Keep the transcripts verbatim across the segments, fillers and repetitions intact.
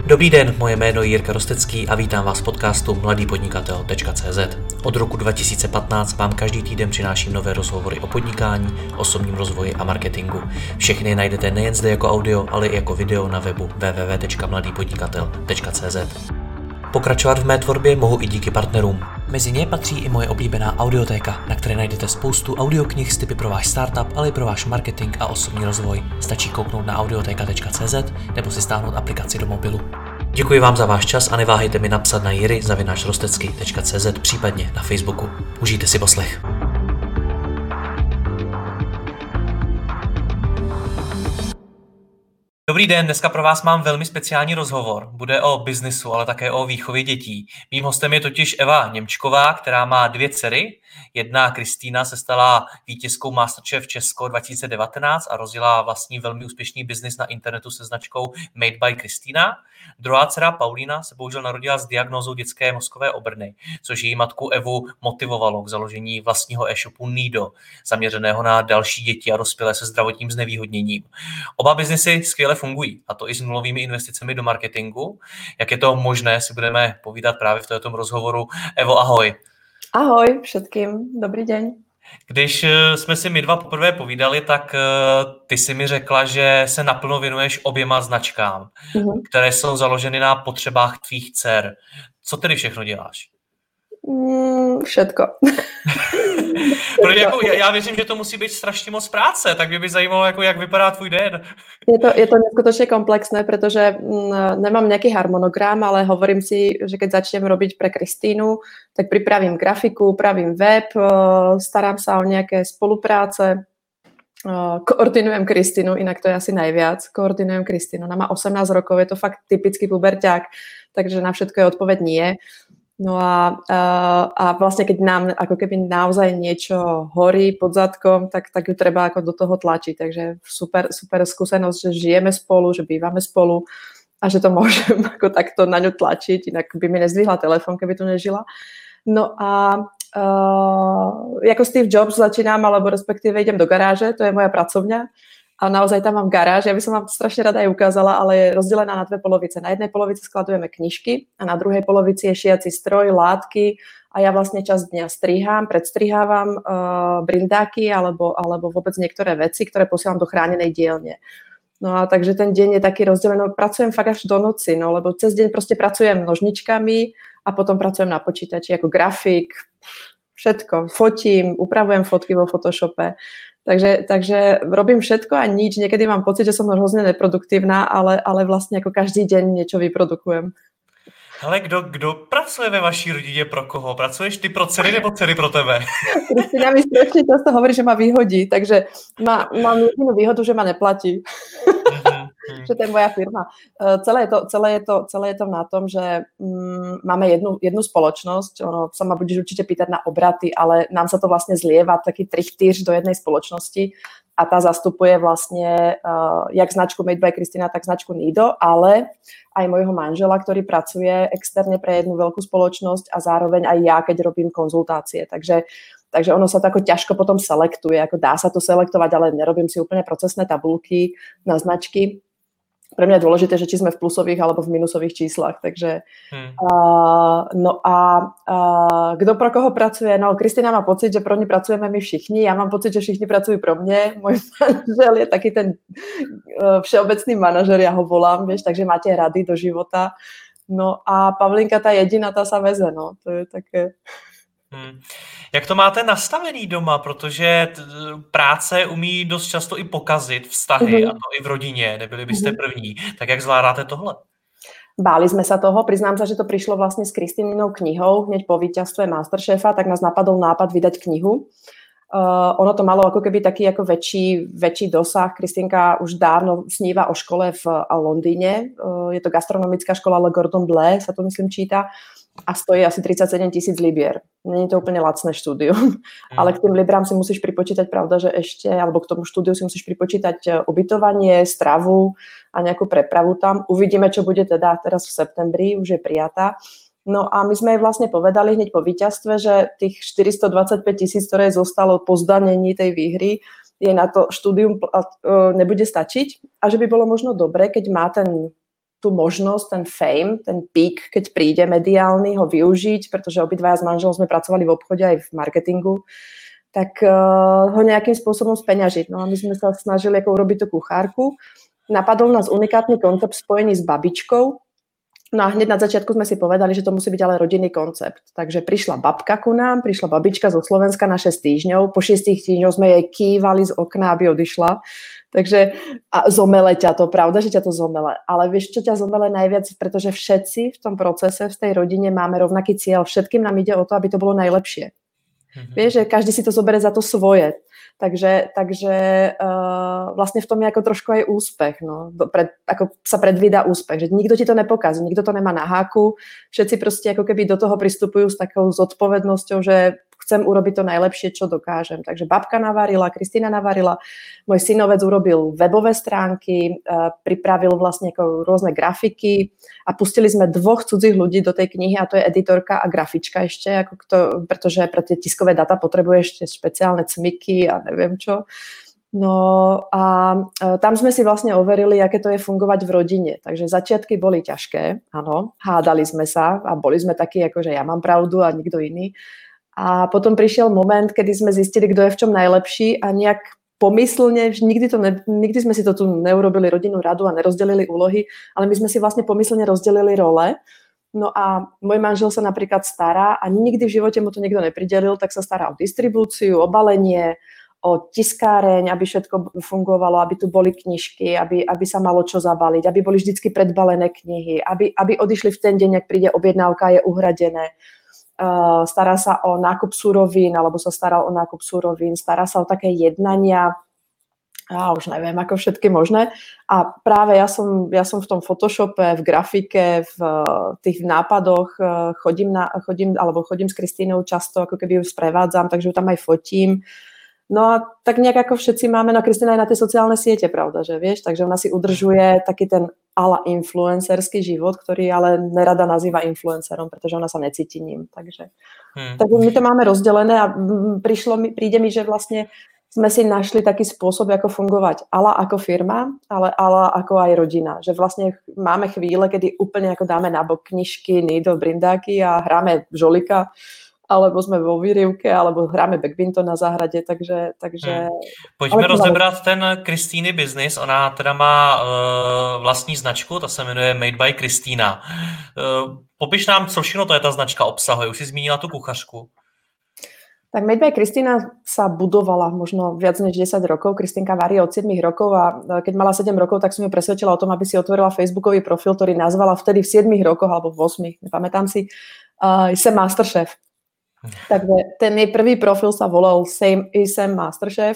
Dobrý den, moje jméno je Jirka Rostecký a vítám vás v podcastu mladý podnikatel tečka cé zet. Od roku dva tisíce patnáct vám každý týden přináším nové rozhovory o podnikání, osobním rozvoji a marketingu. Všechny najdete nejen zde jako audio, ale i jako video na webu w w w tečka mladý podnikatel tečka cé zet. Pokračovat v mé tvorbě mohu i díky partnerům. Mezi ně patří i moje oblíbená audiotéka, na které najdete spoustu audioknih s tipy pro váš startup, ale i pro váš marketing a osobní rozvoj. Stačí kouknout na audioteka tečka cé zet nebo si stáhnout aplikaci do mobilu. Děkuji vám za váš čas a neváhejte mi napsat na jiry zavináč rostecký tečka cé zet, případně na Facebooku. Užijte si poslech. Dobrý den, dneska pro vás mám velmi speciální rozhovor. Bude o biznisu, ale také o výchově dětí. Mým hostem je totiž Eva Němčková, která má dvě dcery. Jedna, Kristýna, se stala vítězkou Masterchef Česko dva tisíce devatenáct a rozjela vlastní velmi úspěšný biznis na internetu se značkou Made by Kristýna. Druhá dcera, Paulína, se bohužel narodila s diagnózou dětské mozkové obrny, což její matku Evu motivovalo k založení vlastního e-shopu Nido, zaměřeného na další děti a dospělé se zdravotním znevýhodněním. Oba biznisy skvěle fungují, a to i s nulovými investicemi do marketingu. Jak je to možné, si budeme povídat právě v tomto rozhovoru. Evo, ahoj. Ahoj všetkým, dobrý deň. Když jsme si my dva poprvé povídali, tak ty si mi řekla, že se naplno věnuješ oběma značkám, mm-hmm. které jsou založeny na potřebách tvých dcer. Co tedy všechno děláš? Mm, všetko. Protože jako, já věřím, že to musí být strašně moc práce, tak mě by zajímalo, jako, jak vypadá tvůj den. Je to, je to neskutočne komplexné, pretože mm, nemám nejaký harmonogram, ale hovorím si, že keď začnem robiť pre Kristínu, tak pripravím grafiku, pravím web, starám sa o nejaké spolupráce, koordinujem Kristínu, inak to je asi najviac, koordinujem Kristínu. Ona má osemnásť rokov, je to fakt typický puberťák, takže na všetko je odpoveď nie. No a, a, a vlastne keď nám ako keby naozaj niečo horí pod zadkom, tak, tak ju treba ako do toho tlačiť. Takže super, super skúsenosť, že žijeme spolu, že bývame spolu a že to môžem ako takto na ňu tlačiť, inak by mi nezdvihla telefón, keby tu nežila. No a uh, ako Steve Jobs začínam, alebo respektíve idem do garáže, to je moja pracovňa. A naozaj tam mám garáž, ja by som vám to strašne rada aj ukázala, ale je rozdelená na dve polovice. Na jednej polovici skladujeme knižky a na druhej polovici je šiaci stroj, látky a ja vlastne časť dňa strihám, predstrihávam uh, brindáky alebo, alebo vôbec niektoré veci, ktoré posielam do chránenej dielne. No a takže ten deň je taký rozdelený, pracujem fakt až do noci, no lebo cez deň proste pracujem nožničkami a potom pracujem na počítači ako grafik, všetko, fotím, upravujem fotky vo Photoshope. Takže, takže robím všetko a nič. Niekedy mám pocit, že som hrozne neproduktívna, ale, ale vlastne ako každý deň niečo vyprodukujem. Ale kdo, kdo pracuje ve vaší rodině pro koho? Pracuješ ty pro dcery nebo dcery pro tebe? Kristina mi strašne často hovorí, že ma vyhodí, takže má, mám jedinú výhodu, že ma neplatí. Že to je moja firma. Celé je to, celé je to, celé je to na tom, že mm, máme jednu, jednu spoločnosť, ono sa ma budeš určite pýtať na obraty, ale nám sa to vlastne zlieva taký trichtýř do jednej spoločnosti a tá zastupuje vlastne uh, jak značku Made by Kristýna, tak značku Nido, ale aj môjho manžela, ktorý pracuje externe pre jednu veľkú spoločnosť a zároveň aj ja, keď robím konzultácie. Takže Takže ono sa to ako ťažko potom selektuje, ako dá sa to selektovať, ale nerobím si úplne procesné tabulky na značky. Pre mňa je dôležité, že či sme v plusových alebo v minusových číslach. Takže, hmm. uh, no a uh, kto pro koho pracuje? No, Kristýna má pocit, že pro ní pracujeme my všichni. Ja mám pocit, že všichni pracujú pro mne. Môj manžel je taký ten uh, všeobecný manažer, ja ho volám, vieš, takže máte rady do života. No a Pavlinka, tá jediná, tá sa veze, no. To je také... Hmm. Jak to máte nastavený doma, protože t- práce umí dost často i pokazit vztahy, mm-hmm. a to i v rodině, nebyli byste mm-hmm. první. Tak jak zvládáte tohle? Báli sme sa toho, priznám sa, že to prišlo vlastne s Kristíninou knihou, hneď po víťazstve Masterchefa, tak nás napadol nápad vydať knihu. Uh, ono to malo ako keby taký ako väčší, väčší dosah. Kristýnka už dávno sníva o škole v Londýne. Uh, je to gastronomická škola Le Cordon Bleu, sa to myslím číta. A stojí asi tridsaťsedem tisíc libier. Není to úplne lacné štúdium, mm. ale k tým librám si musíš pripočítať, pravda, že ešte, alebo k tomu štúdiu si musíš pripočítať ubytovanie, stravu a nejakú prepravu tam. Uvidíme, čo bude teda teraz v septembri, už je prijatá. No a my sme jej vlastne povedali hneď po víťazstve, že tých štyristodvadsaťpäť tisíc, ktoré zostalo po zdanení tej výhry, jej na to štúdium nebude stačiť a že by bolo možno dobre, keď má ten tú možnosť, ten fame, ten peak, keď príde mediálny, ho využiť, pretože obidvaja s manželom sme pracovali v obchode aj v marketingu, tak uh, ho nejakým spôsobom speňažiť. No a my sme sa snažili ako urobiť tú kuchárku. Napadol nás unikátny koncept spojený s babičkou. No a hneď na začiatku sme si povedali, že to musí byť ale rodinný koncept. Takže prišla babka ku nám, prišla babička zo Slovenska na šesť týždňov. Po šiestich týždňoch sme jej kývali z okna, aby odišla. Takže a zomele ťa to, pravda, že ťa to zomele. Ale vieš, čo ťa zomele najviac? Pretože všetci v tom procese, v tej rodine máme rovnaký cieľ. Všetkým nám ide o to, aby to bolo najlepšie. Mm-hmm. Vieš, že každý si to zoberie za to svoje. Takže, takže uh, vlastne v tom je ako trošku aj úspech. No. Pred, ako sa predvída úspech. Že nikto ti to nepokazí, nikto to nemá na háku. Všetci proste ako keby do toho pristupujú s takou zodpovednosťou, že chcem urobiť to najlepšie, čo dokážem. Takže babka navarila, Kristína navarila, môj synovec urobil webové stránky, uh, pripravil vlastne ako rôzne grafiky a pustili sme dvoch cudzích ľudí do tej knihy a to je editorka a grafička ešte, ako kto, pretože pre tie tiskové data potrebuje ešte špeciálne cmiky a neviem čo. No a uh, tam sme si vlastne overili, aké to je fungovať v rodine. Takže začiatky boli ťažké, áno, hádali sme sa a boli sme takí, ako že ja mám pravdu a nikto iný. A potom prišiel moment, kedy sme zistili, kto je v čom najlepší a nejak pomyslne, nikdy, to ne, nikdy sme si to tu neurobili rodinnú radu a nerozdelili úlohy, ale my sme si vlastne pomyslne rozdelili role. No a môj manžel sa napríklad stará a nikdy v živote mu to niekto nepridelil, tak sa stará o distribúciu, o balenie, o tiskáreň, aby všetko fungovalo, aby tu boli knižky, aby, aby sa malo čo zabaliť, aby boli vždycky predbalené knihy, aby, aby odišli v ten deň, ak príde objednávka, je uhradené. Uh, stará sa o nákup surovín, alebo sa staral o nákup surovín, stará sa o také jednania, ja už neviem, ako všetky možné. A práve ja som, ja som v tom Photoshope, v grafike, v uh, tých nápadoch uh, chodím, na, chodím, alebo chodím s Kristínou často, ako keby ju sprevádzam, takže ju tam aj fotím. No a tak nejak ako všetci máme, no Kristína je na tie sociálne siete, pravda, že vieš, takže ona si udržuje taký ten ala influencerský život, ktorý ale nerada nazýva influencerom, pretože ona sa necíti ním, takže, hmm. takže my to máme rozdelené a prišlo mi, príde mi, že vlastne sme si našli taký spôsob, ako fungovať ala ako firma, ale ala ako aj rodina, že vlastne máme chvíle, kedy úplne ako dáme nabok knižky, Nido, brindáky a hráme žolika, alebo sme vo výrivke, alebo hráme badminton na záhrade, takže... takže... Hmm. Pojďme rozebrat ten Kristýny business. Ona teda má uh, vlastní značku, ta se jmenuje Made by Kristína. Uh, popiš nám, co všechno to je ta značka obsahuje. Už si zmínila tu kuchařku. Tak Made by Kristína sa budovala možno viac než desať rokov. Kristínka varí od siedmich rokov a keď mala sedem rokov, tak som ju presvedčila o tom, aby si otvorila facebookový profil, ktorý nazvala vtedy v siedmich rokoch, alebo v osmich, nepamätám si, uh, Jsem Masterchef. Takže ten jej prvý profil sa volal Same, Jsem Masterchef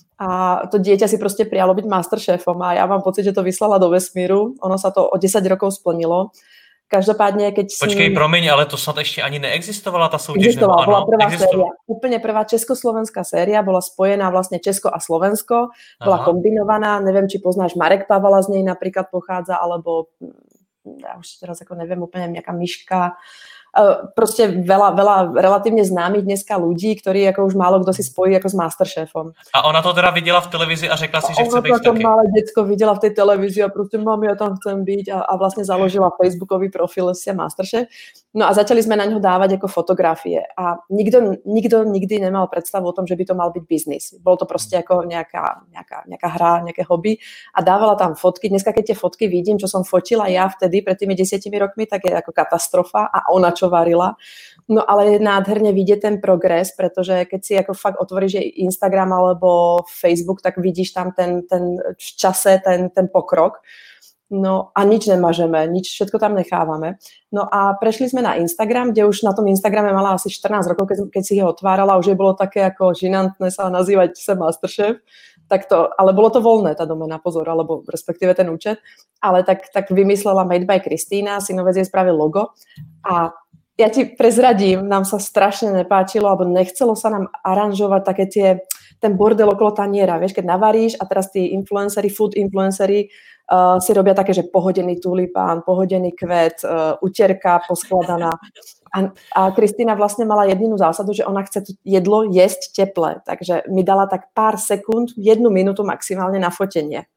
a to dieťa si proste prijalo byť Masterchefom a ja mám pocit, že to vyslala do vesmíru. Ono sa to o desať rokov splnilo. Každopádne, keď... Počkej, si... promiň, ale to snad ešte ani neexistovala tá súťaž? Existovala, bola prvá séria. Úplne prvá československá séria, bola spojená vlastne Česko a Slovensko, bola Aha. kombinovaná, neviem, či poznáš Marek Pavala z nej napríklad pochádza, alebo ja už teraz ako neviem, úplne nejaká Myška, proste veľa, veľa relatívne známych dneska ľudí, ktorí ako už málo kto si spojí ako s Masterchefom. A ona to teda videla v televízii a řekla si, že chce byť taky. Ona to malé decko videla v tej televízii a proste mami, ja tam chcem byť a, a vlastne založila facebookový profil Jsem Masterchef. No a začali sme na ňo dávať ako fotografie a nikto, nikto nikdy nemal predstavu o tom, že by to mal byť biznis. Bolo to proste ako nejaká, nejaká, nejaká hra, nejaké hobby a dávala tam fotky. Dneska, keď tie fotky vidím, čo som fotila ja vtedy pred tými desiatimi rokmi, tak je ako katastrofa a ona čo varila. No ale je nádherne vidieť ten progres, pretože keď si ako fakt otvoríš Instagram alebo Facebook, tak vidíš tam ten, ten v čase, ten, ten pokrok. No a nič nemažeme, nič, všetko tam nechávame. No a prešli sme na Instagram, kde už na tom Instagrame mala asi štrnásť rokov, keď, keď si ho otvárala, už je bolo také ako žinantné sa nazývať Jsem Masterchef, tak to, ale bolo to voľné, tá domena, pozor, alebo respektíve ten účet, ale tak, tak vymyslela Made by Kristína, synovec jej spravil logo a ja ti prezradím, nám sa strašne nepáčilo, alebo nechcelo sa nám aranžovať také tie, ten bordel okolo taniera, vieš, keď navaríš a teraz tí influenceri, food influenceri uh, si robia také, že pohodený tulipán, pohodený kvet, uh, utierka poskladaná. A, a Kristína vlastne mala jedinú zásadu, že ona chce jedlo jesť teplé, takže mi dala tak pár sekúnd, jednu minútu maximálne na fotenie.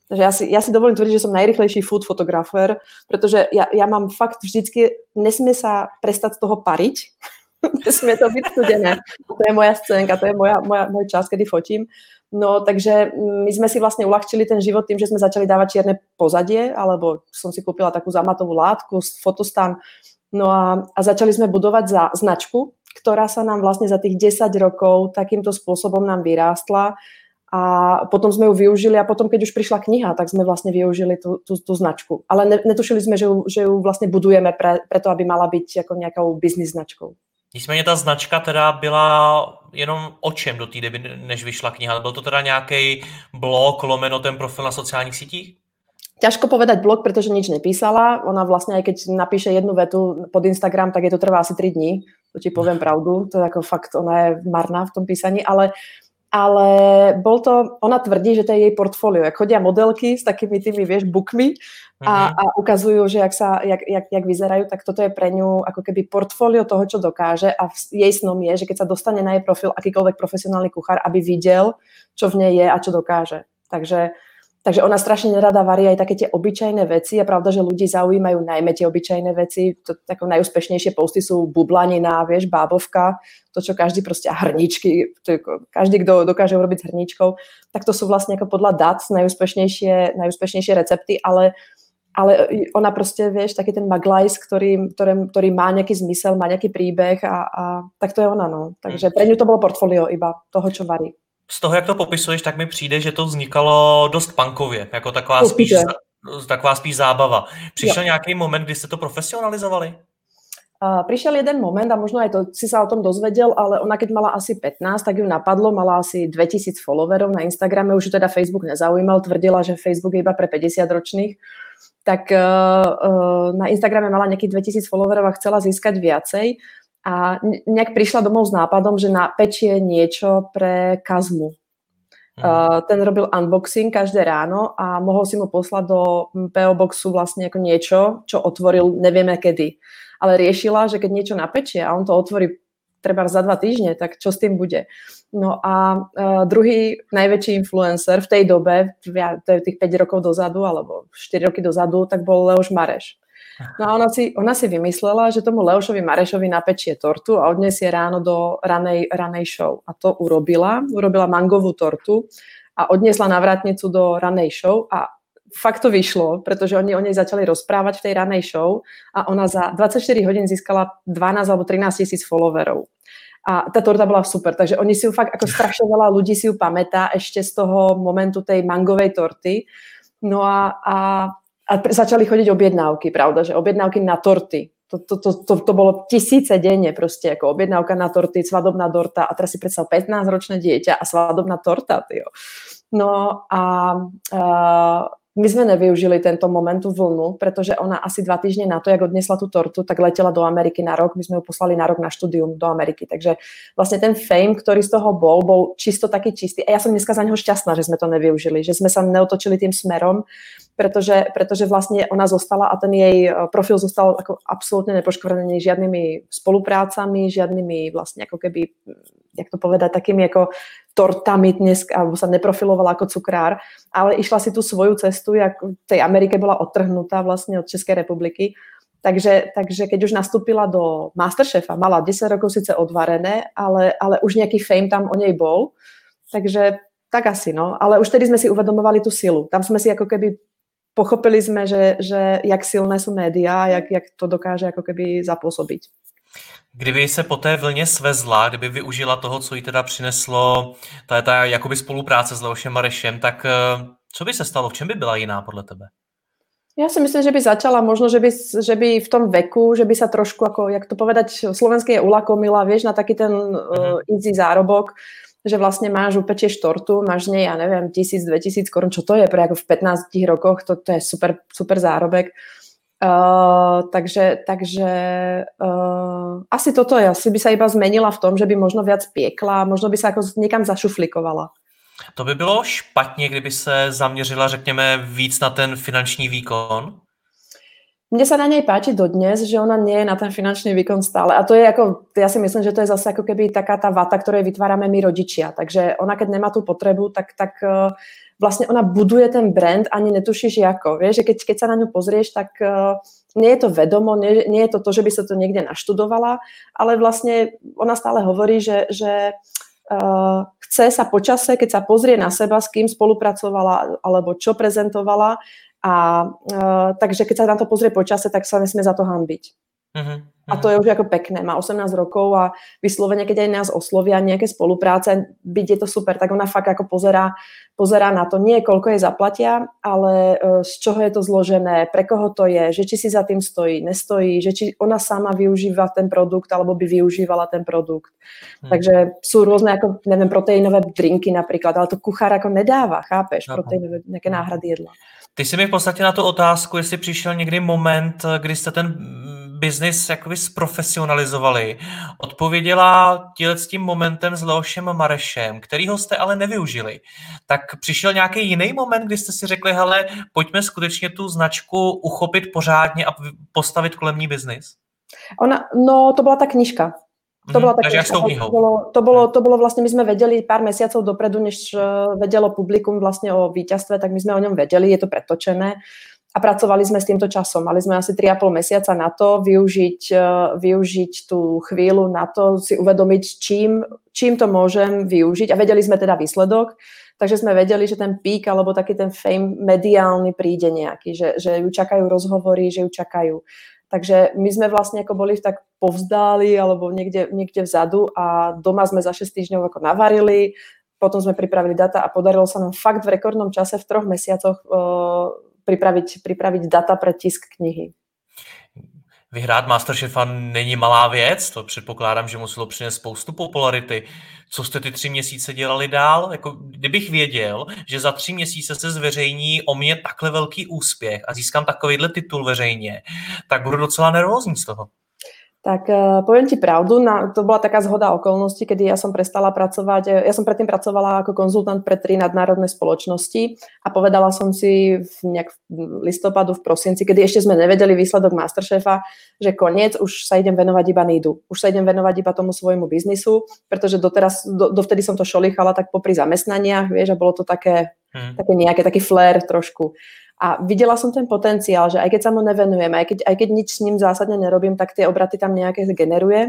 Takže ja si, ja si dovolím tvrdiť, že som najrychlejší food fotografer, pretože ja, ja mám fakt vždycky, nesmie sa prestať z toho pariť, nesmie to byť studené. To je moja scénka, to je moja, moja, môj čas, kedy fotím. No, takže my sme si vlastne uľahčili ten život tým, že sme začali dávať čierne pozadie, alebo som si kúpila takú zamatovú látku, fotostan, no a, a začali sme budovať za značku, ktorá sa nám vlastne za tých desať rokov takýmto spôsobom nám vyrástla. A potom sme ju využili a potom, keď už prišla kniha, tak sme vlastne využili tú, tú, tú značku. Ale ne, netušili sme, že ju, že ju vlastne budujeme pre, preto, aby mala byť ako nejakou business značkou. Nicméně ta značka teda byla jenom o čem do té doby, než vyšla kniha? Byl to teda nějaký blog, lomeno ten profil na sociálních sítích? Ťažko povedať blog, pretože nič nepísala. Ona vlastne, aj keď napíše jednu vetu pod Instagram, tak je to trvá asi tri dní. To ti poviem pravdu. To je ako fakt, ona je marná v tom písaní, ale Ale bol to, ona tvrdí, že to je jej portfólio. Jak chodia modelky s takými tými, vieš, bookmi a, a ukazujú, že jak, sa, jak, jak, jak vyzerajú, tak toto je pre ňu ako keby portfólio toho, čo dokáže a jej snom je, že keď sa dostane na jej profil akýkoľvek profesionálny kuchár, aby videl, čo v nej je a čo dokáže. Takže Takže ona strašne nerada varí aj také tie obyčajné veci. Je pravda, že ľudí zaujímajú najmä tie obyčajné veci. To, také najúspešnejšie posty sú bublanina, vieš, bábovka, to, čo každý proste, a hrničky, to, každý, kto dokáže urobiť s hrničkou, tak to sú vlastne ako podľa dat najúspešnejšie, najúspešnejšie recepty, ale, ale ona proste, vieš, taký ten maglajs, ktorý, ktorý, ktorý má nejaký zmysel, má nejaký príbeh a, a tak to je ona, no. Takže pre ňu to bolo portfólio iba toho, čo varí. Z toho, jak to popisuješ, tak mi přijde, že to vznikalo dost punkově, jako taková spíš, taková spíš zábava. Přišel jo. nějaký moment, kdy jste to profesionalizovali? Uh, prišiel jeden moment a možno aj to si sa o tom dozvedel, ale ona keď mala asi pätnásť, tak ju napadlo, mala asi dvetisíc followerov na Instagrame, už ju teda Facebook nezaujímal, tvrdila, že Facebook je iba pre päťdesiatročných. Tak uh, uh, na Instagrame mala nejakých dvetisíc followerov a chcela získať viacej. A nejak prišla domov s nápadom, že napečie niečo pre Kazmu. Hmm. Uh, ten robil unboxing každé ráno a mohol si mu poslať do pé ó Boxu vlastne ako niečo, čo otvoril nevieme kedy. Ale riešila, že keď niečo napečie a on to otvorí treba za dva týždne, tak čo s tým bude? No a uh, druhý najväčší influencer v tej dobe, to je tých päť rokov dozadu, alebo štyri roky dozadu, tak bol Leoš Mareš. No a ona si, ona si vymyslela, že tomu Leošovi Marešovi napečie tortu a odniesie ráno do ranej, ranej show. A to urobila. Urobila mangovú tortu a odniesla na vrátnicu do ranej show a fakt to vyšlo, pretože oni o nej začali rozprávať v tej ranej show a ona za dvadsaťštyri hodín získala dvanásť alebo trinásť tisíc followerov. A tá torta bola super, takže oni si ju fakt, ako strašne veľa ľudí si ju pamätá ešte z toho momentu tej mangovej torty. No a, a A začali chodiť objednávky, pravda, že objednávky na torty. To, to, to, to, to bolo tisíce denne proste, ako objednávka na torty, svadobná torta a teraz si predstav pätnásťročné dieťa a svadobná torta, tyjo. No a, a my sme nevyužili tento moment, tú vlnu, pretože ona asi dva týždne na to, jak odnesla tú tortu, tak letela do Ameriky na rok. My sme ju poslali na rok na štúdium do Ameriky. Takže vlastne ten fame, ktorý z toho bol, bol čisto taký čistý. A ja som dneska za neho šťastná, že sme to nevyužili, že sme sa neotočili tým smerom, pretože, pretože vlastne ona zostala a ten jej profil zostal ako absolútne nepoškvrnený žiadnymi spoluprácami, žiadnymi vlastne ako keby, jak to povedať, takými ako tortami dnes, alebo sa neprofilovala ako cukrár, ale išla si tú svoju cestu, jak v tej Amerike bola odtrhnutá vlastne od Českej republiky. Takže, takže keď už nastúpila do Masterchefa, mala desať rokov síce odvarené, ale, ale už nejaký fame tam o nej bol. Takže tak asi, no. Ale už tedy sme si uvedomovali tú silu. Tam sme si ako keby pochopili sme, že, že jak silné sú médiá, jak, jak to dokáže ako keby zapôsobiť. Kdyby se po té vlně svezla, kdyby využila toho, co jí teda přineslo ta, ta jakoby spolupráce s Leošem Marešem, tak co by se stalo? V čem by byla jiná podle tebe? Ja si myslím, že by začala možno, že by, že by v tom veku, že by sa trošku, ako, jak to povedať, slovenské je ulakomila, vieš, na taký ten uh, easy zárobok, že vlastne máš, upečieš tortu, máš z nej, ja neviem, tisíc, dvetisíc korun, čo to je pre ako v pätnástich rokoch, to, to je super, super zárobek. Uh, takže takže uh, asi toto je, asi by sa iba zmenila v tom, že by možno viac piekla, možno by sa ako niekam zašuflikovala. To by bylo špatně, kdyby se zaměřila, řekněme, víc na ten finanční výkon? Mne sa na nej páči dodnes, že ona nie je na ten finančný výkon stále. A to je ako, ja si myslím, že to je zase ako keby taká tá vata, ktorej vytvárame my rodičia. Takže ona, keď nemá tú potrebu, tak, tak vlastne ona buduje ten brand, ani netušíš ako. Vieš, že keď, keď sa na ňu pozrieš, tak nie je to vedomo, nie, nie je to to, že by sa to niekde naštudovala, ale vlastne ona stále hovorí, že, že uh, chce sa počase, keď sa pozrie na seba, s kým spolupracovala alebo čo prezentovala, a uh, takže keď sa na to pozrie počase, tak sa nesmie za to hanbiť. Uh-huh, uh-huh. A to je už ako pekné. Má osemnásť rokov a vyslovene, keď aj nás oslovia nejaké spolupráce, byť je to super, tak ona fakt ako pozerá, pozerá na to, nie koľko jej zaplatia, ale uh, z čoho je to zložené, pre koho to je, že či si za tým stojí, nestojí, že či ona sama využíva ten produkt, alebo by využívala ten produkt. Uh-huh. Takže sú rôzne, ako, neviem, proteínové drinky napríklad, ale to kuchár ako nedáva, chápeš, uh-huh. proteínové nejaké náhrady jedla. Ty jsi mi v podstatě na tu otázku, jestli přišel někdy moment, kdy jste ten biznis jakoby zprofesionalizovali, odpověděla tíhle s tím momentem s Leošem Marešem, kterýho jste ale nevyužili. Tak přišel nějaký jiný moment, kdy jste si řekli, hele, pojďme skutečně tu značku uchopit pořádně a postavit kolem ní biznis? Ona, no to byla ta knižka. To, bola Takže jak s tou knihou? To bolo, to, bolo, to bolo vlastne, my sme vedeli pár mesiacov dopredu, než vedelo publikum vlastne o víťazstve, tak my sme o ňom vedeli, je to pretočené a pracovali sme s týmto časom. Mali sme asi tri a pol mesiaca na to využiť, využiť tú chvíľu na to, si uvedomiť, čím, čím to môžem využiť a vedeli sme teda výsledok, takže sme vedeli, že ten pík alebo taký ten fame mediálny príde nejaký, že, že ju čakajú rozhovory, že ju čakajú. Takže my sme vlastne ako boli tak povzdáli alebo niekde, niekde vzadu a doma sme za šesť týždňov ako navarili, potom sme pripravili data a podarilo sa nám fakt v rekordnom čase v troch mesiacoch uh, pripraviť, pripraviť data pre tisk knihy. Vyhrát Masterchefa není malá věc, to předpokládám, že muselo přinést spoustu popularity. Co jste ty tři měsíce dělali dál? Jako, kdybych věděl, že za tři měsíce se zveřejní o mě takhle velký úspěch a získám takovýhle titul veřejně, tak budu docela nervózní z toho. Tak uh, poviem ti pravdu, na, to bola taká zhoda okolností, kedy ja som prestala pracovať, ja som predtým pracovala ako konzultant pre tri nadnárodné spoločnosti a povedala som si v nejak v listopadu, v prosinci, kedy ešte sme nevedeli výsledok Masterchefa, že koniec, už sa idem venovať iba Nidu, už sa idem venovať iba tomu svojmu biznisu, pretože doteraz, do, dovtedy som to šolichala tak popri zamestnaniach, vieš, a bolo to také, hmm. také nejaké, taký flair trošku. A videla som ten potenciál, že aj keď sa mu nevenujem, aj keď, aj keď nič s ním zásadne nerobím, tak tie obraty tam nejaké generuje.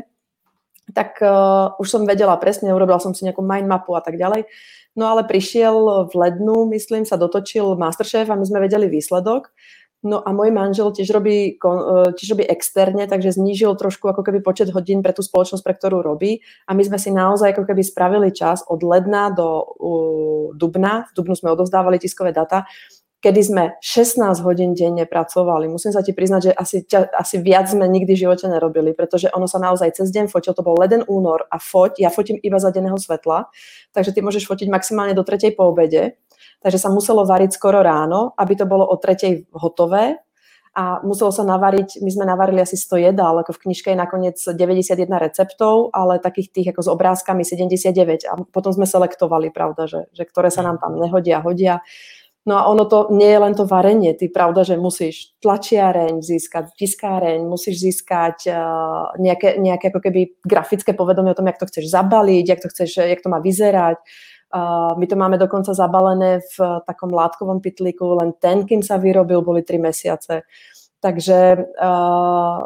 Tak uh, už som vedela presne, urobila som si nejakú mind mapu a tak ďalej. No ale prišiel v lednu, myslím, sa dotočil Masterchef a my sme vedeli výsledok. No a môj manžel tiež robí, tiež robí externe, takže znížil trošku ako keby počet hodín pre tú spoločnosť, pre ktorú robí. A my sme si naozaj ako keby spravili čas od ledna do uh, dubna. V dubnu sme odovzdávali tiskové data, kedy sme šestnásť hodín denne pracovali. Musím sa ti priznať, že asi, asi viac sme nikdy v živote nerobili, pretože ono sa naozaj cez deň fotil, to bol leden únor a foť, ja fotím iba za denného svetla, takže ty môžeš fotiť maximálne do tretej po obede, takže sa muselo variť skoro ráno, aby to bolo o tretej hotové a muselo sa navariť, my sme navarili asi sto jedál, ako v knižke je nakoniec deväťdesiatjeden receptov, ale takých tých ako s obrázkami sedemdesiatdeväť a potom sme selektovali, pravda, že, že ktoré sa nám tam nehodia, hodia. No a ono to nie je len to varenie, ty pravda, že musíš tlačiareň získať, tiskáreň, musíš získať uh, nejaké, nejaké ako keby grafické povedomie o tom, jak to chceš zabaliť, jak to chceš, jak to má vyzerať. Uh, my to máme dokonca zabalené v takom látkovom pytlíku, len ten, kým sa vyrobil, boli tri mesiace. Takže uh,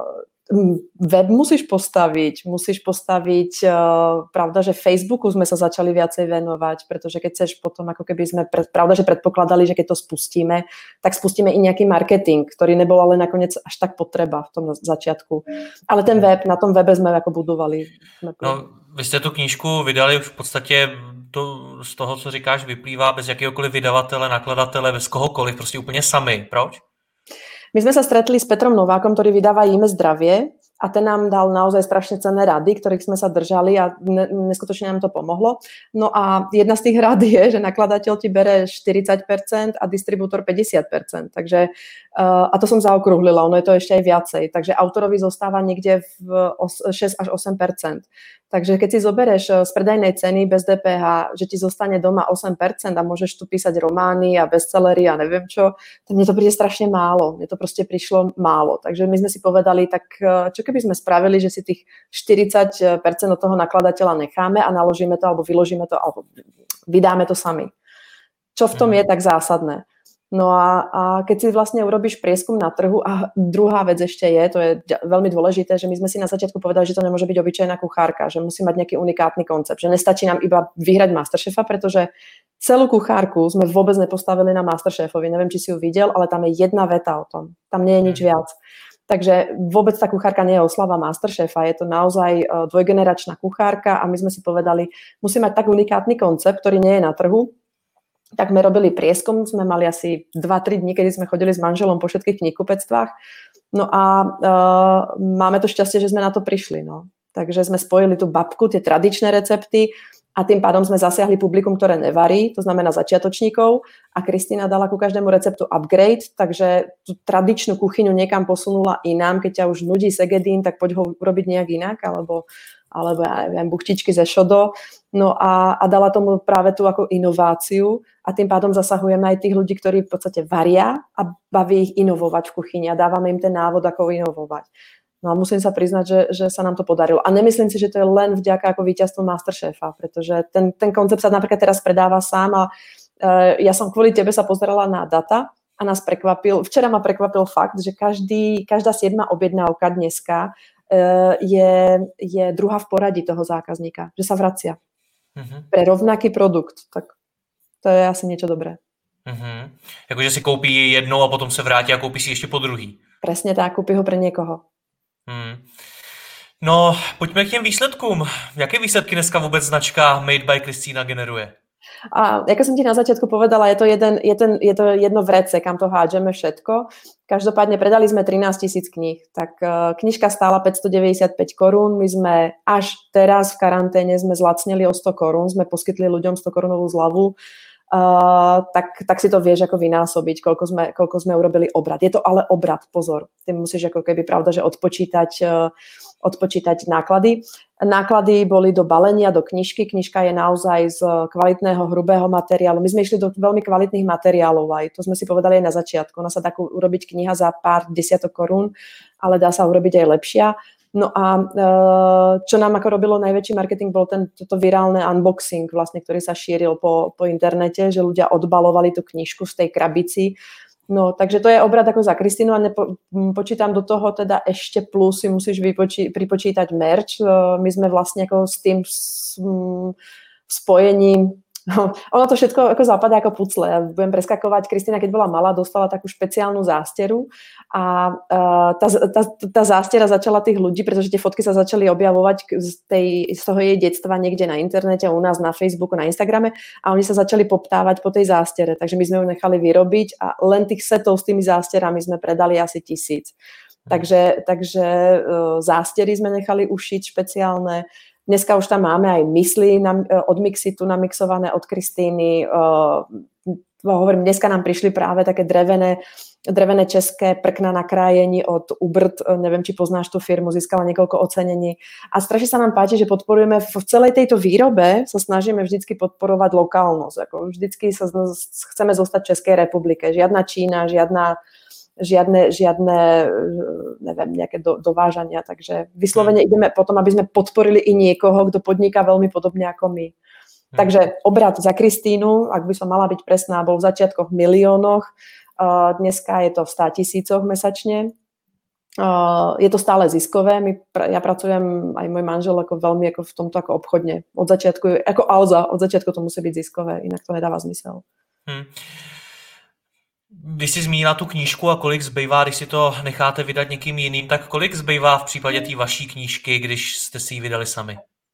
web musíš postaviť, musíš postaviť, uh, pravda, že Facebooku sme sa začali viacej venovať, pretože keď chceš potom, ako keby sme, pred, pravda, že predpokladali, že keď to spustíme, tak spustíme i nejaký marketing, ktorý nebol ale nakoniec až tak potreba v tom začiatku. Ale ten web, na tom webe sme ako budovali. No, vy jste tu knížku vydali v podstatě to, z toho, co říkáš, vyplývá bez jakéhokoliv vydavatele, nakladatele, bez kohokoliv, prostě úplně sami. Proč? My sme sa stretli s Petrom Novákom, ktorý vydáva Jíme zdravie a ten nám dal naozaj strašne cenné rady, ktorých sme sa držali a neskutočne nám to pomohlo. No a jedna z tých rád je, že nakladateľ ti bere štyridsať percent a distribútor päťdesiat percent. Takže, a to som zaokrúhlila, ono je to ešte aj viacej. Takže autorovi zostáva niekde v šesť až osem percent. Takže keď si zoberieš z predajnej ceny bez dé pé há, že ti zostane doma osem percent a môžeš tu písať romány a bestsellery a neviem čo, to mne to príde strašne málo. Mne to proste prišlo málo. Takže my sme si povedali, tak čo keby sme spravili, že si tých štyridsať percent od toho nakladateľa necháme a naložíme to, alebo vyložíme to, alebo vydáme to sami. Čo v tom je tak zásadné? No a, a keď si vlastne urobíš prieskum na trhu, a druhá vec ešte je, to je veľmi dôležité, že my sme si na začiatku povedali, že to nemôže byť obyčajná kuchárka, že musí mať nejaký unikátny koncept, že nestačí nám iba vyhrať Masterchefa, pretože celú kuchárku sme vôbec nepostavili na Masterchefovi. Neviem, či si ju videl, ale tam je jedna veta o tom. Tam nie je nič viac. Takže vôbec tá kuchárka nie je oslava Masterchefa, je to naozaj dvojgeneračná kuchárka a my sme si povedali, musí mať tak unikátny koncept, ktorý nie je na trhu. Tak sme robili prieskum, sme mali asi dva tri dní, kedy sme chodili s manželom po všetkých knihkupectvách. No a uh, máme to šťastie, že sme na to prišli. No. Takže sme spojili tú babku, tie tradičné recepty a tým pádom sme zasiahli publikum, ktoré nevarí, to znamená začiatočníkov a Kristína dala ku každému receptu upgrade, takže tú tradičnú kuchyňu niekam posunula inám, keď ťa už nudí segedín, tak poď ho urobiť nejak inak, alebo alebo ja neviem, buchtičky ze šodo, no a, a dala tomu práve tú ako inováciu a tým pádom zasahujeme aj tých ľudí, ktorí v podstate varia a baví ich inovovať v kuchyni a dávame im ten návod, ako inovovať. No a musím sa priznať, že, že sa nám to podarilo. A nemyslím si, že to je len vďaka ako víťazstvu Masterchefa, pretože ten, ten koncept sa napríklad teraz predáva sám a uh, ja som kvôli tebe sa pozerala na data a nás prekvapil, včera ma prekvapil fakt, že každý, každá siedma objednávka dneska Je, je druhá v poradí toho zákazníka, že sa vracia uh-huh. pre rovnaký produkt, tak to je asi niečo dobré. Uh-huh. Jakože si koupí jednou a potom se vrátí a koupí si ještě po druhý. Presne tak, kúpi ho pre niekoho. Hmm. No, pojďme k těm výsledkům. Jaké výsledky dneska vůbec značka Made by Kristína generuje? A ako som ti na začiatku povedala, je to, jeden, je, ten, je to jedno vrece, kam to hádžeme všetko. Každopádne predali sme trinásť tisíc kníh. Tak uh, knižka stála päťstodeväťdesiatpäť korún. My sme až teraz v karanténe sme zlacnili o sto korún. Sme poskytli ľuďom sto korunovú zľavu. Uh, tak, tak si to vieš ako vynásobiť, koľko sme, koľko sme urobili obrat. Je to ale obrat, pozor. Ty musíš ako keby pravda, že odpočítať, uh, odpočítať náklady. Náklady boli do balenia, do knižky. Knižka je naozaj z kvalitného, hrubého materiálu. My sme išli do veľmi kvalitných materiálov aj. To sme si povedali aj na začiatku. Ona sa dá urobiť kniha za pár desiatok korún, ale dá sa urobiť aj lepšia. No a čo nám ako robilo najväčší marketing, bol ten, toto virálne unboxing, vlastne, ktorý sa šíril po, po internete, že ľudia odbalovali tú knižku z tej krabici. No, takže to je obrad ako za Kristínu a nepo, počítam do toho teda ešte plus si musíš vypočí, pripočítať merch. My sme vlastne ako s tým spojením. Ono to všetko ako zapadá ako pucle. Ja budem preskakovať. Kristína, keď bola malá, dostala takú špeciálnu zásteru a uh, tá, tá, tá zástera začala tých ľudí, pretože tie fotky sa začali objavovať z, tej, z toho jej detstva niekde na internete, u nás na Facebooku, na Instagrame a oni sa začali poptávať po tej zástere. Takže my sme ju nechali vyrobiť a len tých setov s tými zásterami sme predali asi tisíc. Takže, takže uh, zástery sme nechali ušiť špeciálne. Dneska už tam máme aj mysli na, od Mixitu namixované od Kristíny. Uh, hovorím, dneska nám prišli práve také drevené, drevené české prkna na krájení od Ubrt. Neviem, či poznáš tú firmu, získala niekoľko ocenení. A strašne sa nám páči, že podporujeme v celej tejto výrobe, sa snažíme vždycky podporovať lokálnosť. Ako vždycky sa chceme zostať v Českej republike. Žiadna Čína, žiadna žiadne, žiadne neviem, nejaké do, dovážania, takže vyslovene ideme potom, aby sme podporili i niekoho, kto podniká veľmi podobne ako my. Hmm. Takže obrat za Kristínu, ak by som mala byť presná, bol v začiatkoch v miliónoch, uh, dneska je to v státisícoch mesačne. Uh, je to stále ziskové, My, ja pracujem, aj môj manžel, ako veľmi ako v tomto ako obchodne. Od začiatku, ako Alza, od začiatku to musí byť ziskové, inak to nedáva zmysel. Hmm. Když jsi zmínila tu knížku a kolik zbývá, když si to necháte vydat někým jiným, tak kolik zbývá v případě té vaší knížky, když jste si ji vydali sami?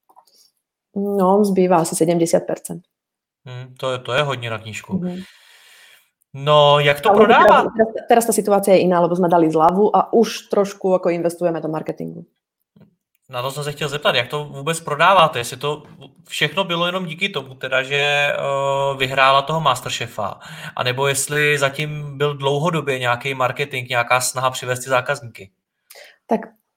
No, zbývá asi sedemdesiat percent. Hmm, to, je, to je hodně na knížku. Mm-hmm. No, jak to prodává? Teraz, teraz, teraz tá situácia je iná, lebo sme dali zľavu a už trošku ako investujeme do marketingu. Na to jsem se chtěl zeptat, jak to vůbec prodáváte, jestli to všechno bylo jenom díky tomu, teda, že uh, vyhrála toho Masterchefa, anebo jestli zatím byl dlouhodobě nějaký marketing, nějaká snaha přivést ty zákazníky? Tak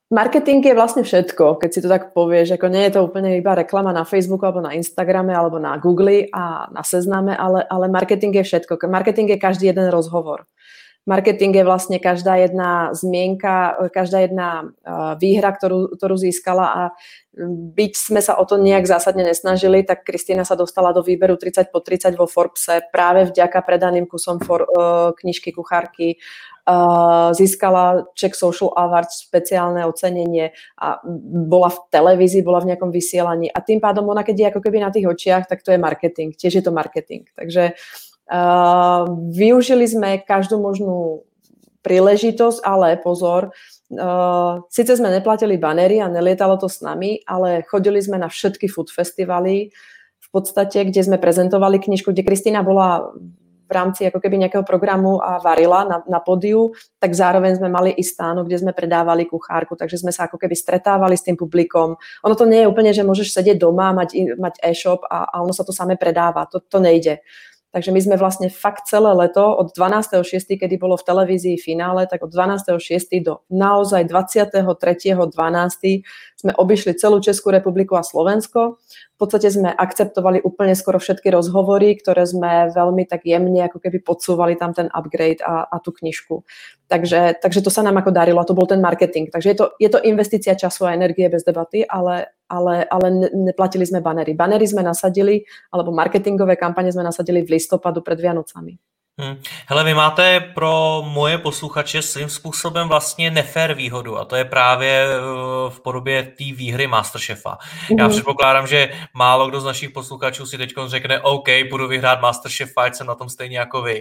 Marketing je vlastne všetko, keď si to tak povieš, ako nie je to úplne iba reklama na Facebooku alebo na Instagrame alebo na Google a na Sezname, ale, ale marketing je všetko. Marketing je každý jeden rozhovor. Marketing je vlastne každá jedna zmienka, každá jedna výhra, ktorú, ktorú získala a byť sme sa o to nejak zásadne nesnažili, tak Kristína sa dostala do výberu tridsať po tridsať vo Forbese práve vďaka predaným kusom for, knižky kuchárky. Uh, získala Czech Social Awards, špeciálne ocenenie a bola v televízii, bola v nejakom vysielaní a tým pádom ona, keď je ako keby na tých očiach, tak to je marketing, tiež je to marketing. Takže uh, využili sme každú možnú príležitosť, ale pozor, uh, síce sme neplatili banery a nelietalo to s nami, ale chodili sme na všetky food festivaly, v podstate, kde sme prezentovali knižku, kde Kristína bola v rámci ako keby nejakého programu a varila na, na pódiu, tak zároveň sme mali i stánok, kde sme predávali kuchárku, takže sme sa ako keby stretávali s tým publikom. Ono to nie je úplne, že môžeš sedieť doma, mať, mať e-shop a, a ono sa to samé predáva. To, to nejde. Takže my sme vlastne fakt celé leto od dvanásteho šiesteho, kedy bolo v televízii finále, tak od dvanásteho šiesteho do naozaj dvadsiateho tretieho dvanásteho sme obišli celú Českú republiku a Slovensko. V podstate sme akceptovali úplne skoro všetky rozhovory, ktoré sme veľmi tak jemne ako keby podsúvali tam ten upgrade a, a tú knižku. Takže, takže to sa nám ako darilo a to bol ten marketing. Takže je to, je to investícia času a energie bez debaty, ale, ale, ale neplatili sme banery. Banery sme nasadili, alebo marketingové kampane sme nasadili v listopadu pred Vianocami. Hmm. Hele, vy máte pro moje posluchače svým způsobem vlastně nefér výhodu a to je právě v podobě té výhry Masterchefa. Mm-hmm. Já předpokládám, že málo kdo z našich posluchačů si teď řekne OK, budu vyhrát Masterchefa, ať jsem na tom stejně jako vy.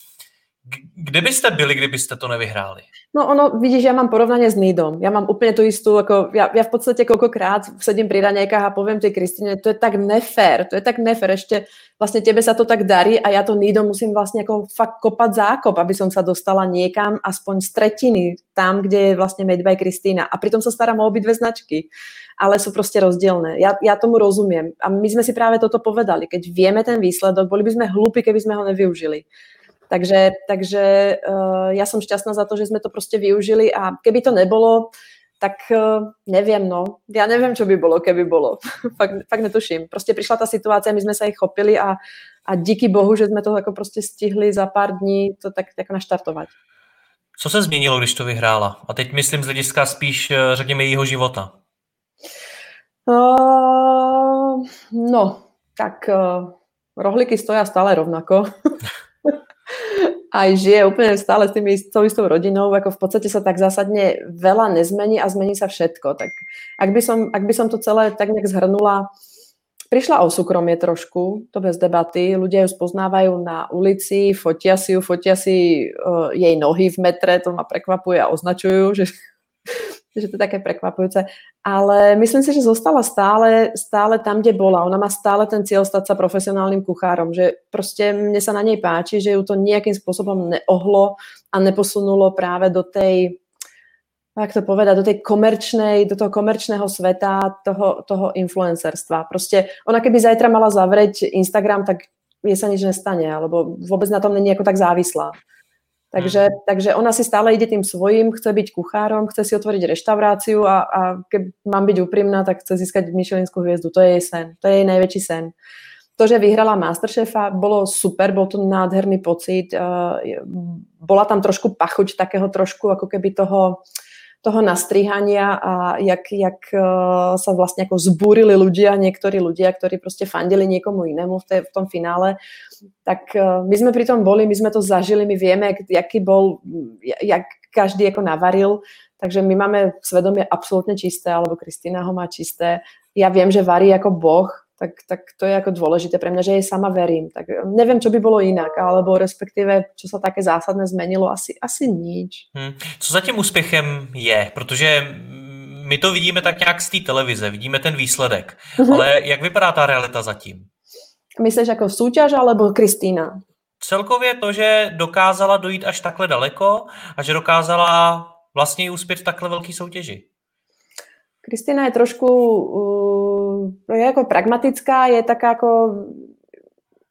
Kde byste byli, kdybyste to nevyhráli? No ono, vidíš, ja mám porovnanie s Nidom. Ja mám úplne tú istú, ako ja, ja v podstate koľkokrát sedím pri raňajkách a poviem tej Kristine, to je tak nefér, to je tak nefér, ešte vlastne tebe sa to tak darí a ja to Nidom musím vlastne ako fakt kopať zákop, aby som sa dostala niekam aspoň z tretiny, tam, kde je vlastne Made by Kristína. A pritom sa starám o obidve značky, ale sú proste rozdielne. Ja, ja tomu rozumiem. A my sme si práve toto povedali. Keď vieme ten výsledok, boli by sme hlúpi, keby sme ho nevyužili. Takže, takže uh, ja som šťastná za to, že sme to proste využili a keby to nebolo, tak uh, neviem, no. Ja neviem, čo by bolo, keby bolo. fakt, fakt netuším. Proste prišla tá situácia, my sme sa ich chopili a, a díky Bohu, že sme to ako proste stihli za pár dní to tak, tak naštartovať. Co se změnilo, když to vyhrála? A teď myslím z hlediska spíš, řekněme, jejího života. Uh, no, tak uh, rohlíky stoja stále rovnako. Aj žije úplne stále s tými istou rodinou, ako v podstate sa tak zásadne veľa nezmení a zmení sa všetko. Tak ak by som, ak by som to celé tak nejak zhrnula, prišla o súkromie trošku, to bez debaty, ľudia ju spoznávajú na ulici, fotia si ju, fotia si uh, jej nohy v metre, to ma prekvapuje a označujú, že že to je také prekvapujúce, ale myslím si, že zostala stále, stále tam, kde bola. Ona má stále ten cieľ stať sa profesionálnym kuchárom, že proste mne sa na nej páči, že ju to nejakým spôsobom neohlo a neposunulo práve do tej, jak to povedať, do tej komerčnej, do toho komerčného sveta, toho, toho influencerstva. Proste ona keby zajtra mala zavrieť Instagram, tak jej sa nič nestane, alebo vôbec na tom není ako tak závislá. Takže, hmm. takže ona si stále ide tým svojím, chce byť kuchárom, chce si otvoriť reštauráciu a, a keď mám byť úprimná, tak chce získať Michelinskú hviezdu. To je jej sen. To je jej najväčší sen. To, že vyhrala Masterchefa, bolo super, bol to nádherný pocit. Bola tam trošku pachuť takého trošku ako keby toho, toho nastrihania a jak, jak sa vlastne ako zbúrili ľudia, niektorí ľudia, ktorí proste fandili niekomu inému v, tej, v tom finále. Tak my sme pri tom boli, my sme to zažili, my vieme, jaký bol, jak každý ako navaril, takže my máme svedomie absolútne čisté, alebo Kristína ho má čisté. Ja viem, že varí ako boh, tak, tak to je ako dôležité pre mňa, že jej sama verím. Tak neviem, čo by bolo inak, alebo respektíve, čo sa také zásadné zmenilo, asi, asi nič. Hmm. Co za tím úspěchem je? Protože my to vidíme tak nějak z té televize, vidíme ten výsledek, mm-hmm. ale jak vypadá ta realita zatím? Myslíš ako súťaž alebo Kristína? Celkově to, že dokázala dojít až takhle daleko a že dokázala vlastně i uspět v takhle velký soutěži. Kristína je trošku uh, je ako pragmatická, je taká ako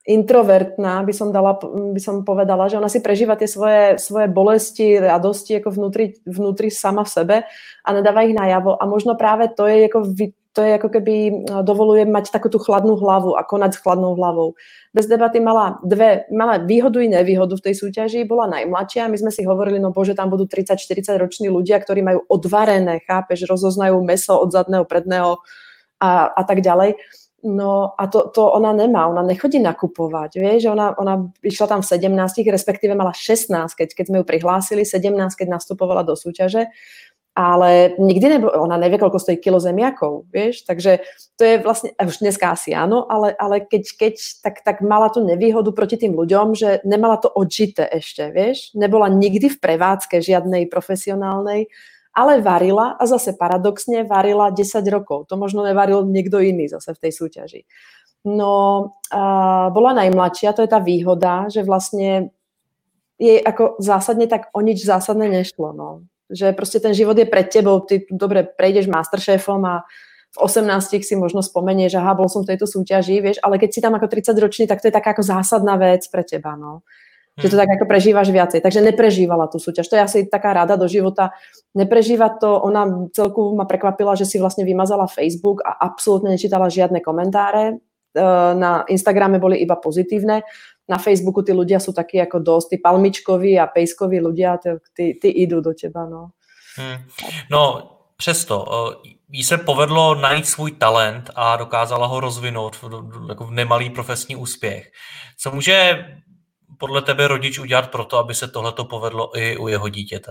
introvertná, by som, dala, by som povedala, že ona si prežíva tie svoje, svoje bolesti, radosti ako vnútri, vnútri sama v sebe a nedáva ich najavo. A možno práve to je ako, to je ako keby dovoluje mať takú tú chladnú hlavu a konať s chladnou hlavou. Bez debaty mala dve, mala výhodu i nevýhodu v tej súťaži, bola najmladšia. My sme si hovorili, no bože, tam budú tridsať štyridsať roční ľudia, ktorí majú odvarené, chápeš, rozoznajú mäso od zadného, predného a, a tak ďalej. No a to, to ona nemá, ona nechodí nakupovať, vieš, ona, ona išla tam v sedemnástich, respektíve mala šestnásť, keď, keď sme ju prihlásili, sedemnásť, keď nastupovala do súťaže, ale nikdy nebo, ona nevie, koľko stojí kilo zemiakov, vieš, takže to je vlastne, už dneska asi áno, ale, ale keď, keď tak, tak mala tú nevýhodu proti tým ľuďom, že nemala to odžité ešte, vieš, nebola nikdy v prevádzke žiadnej profesionálnej, ale varila a zase paradoxne varila desať rokov. To možno nevaril niekto iný zase v tej súťaži. No, a bola najmladšia, to je tá výhoda, že vlastne jej ako zásadne tak o nič zásadné nešlo. No. Že proste ten život je pred tebou, ty dobre prejdeš Masterchefom a v osemnástich si možno spomenieš, aha, bol som v tejto súťaži, vieš, ale keď si tam ako tridsaťročný, tak to je taká ako zásadná vec pre teba, no. Že to tak ako prežívaš viacej. Takže neprežívala tú súťaž. To je asi taká rada do života. Neprežíva to. Ona celku ma prekvapila, že si vlastne vymazala Facebook a absolútne nečítala žiadne komentáre. Na Instagrame boli iba pozitívne. Na Facebooku tí ľudia sú takí ako dosť. Tí palmičkoví a pejskoví ľudia, tí, tí idú do teba. No, hmm. no přesto. Jí se povedlo najít svůj talent a dokázala ho rozvinout jako v nemalý profesní úspěch. Co může podle tebe rodič udělat pro to, aby se tohleto povedlo i u jeho dítěte?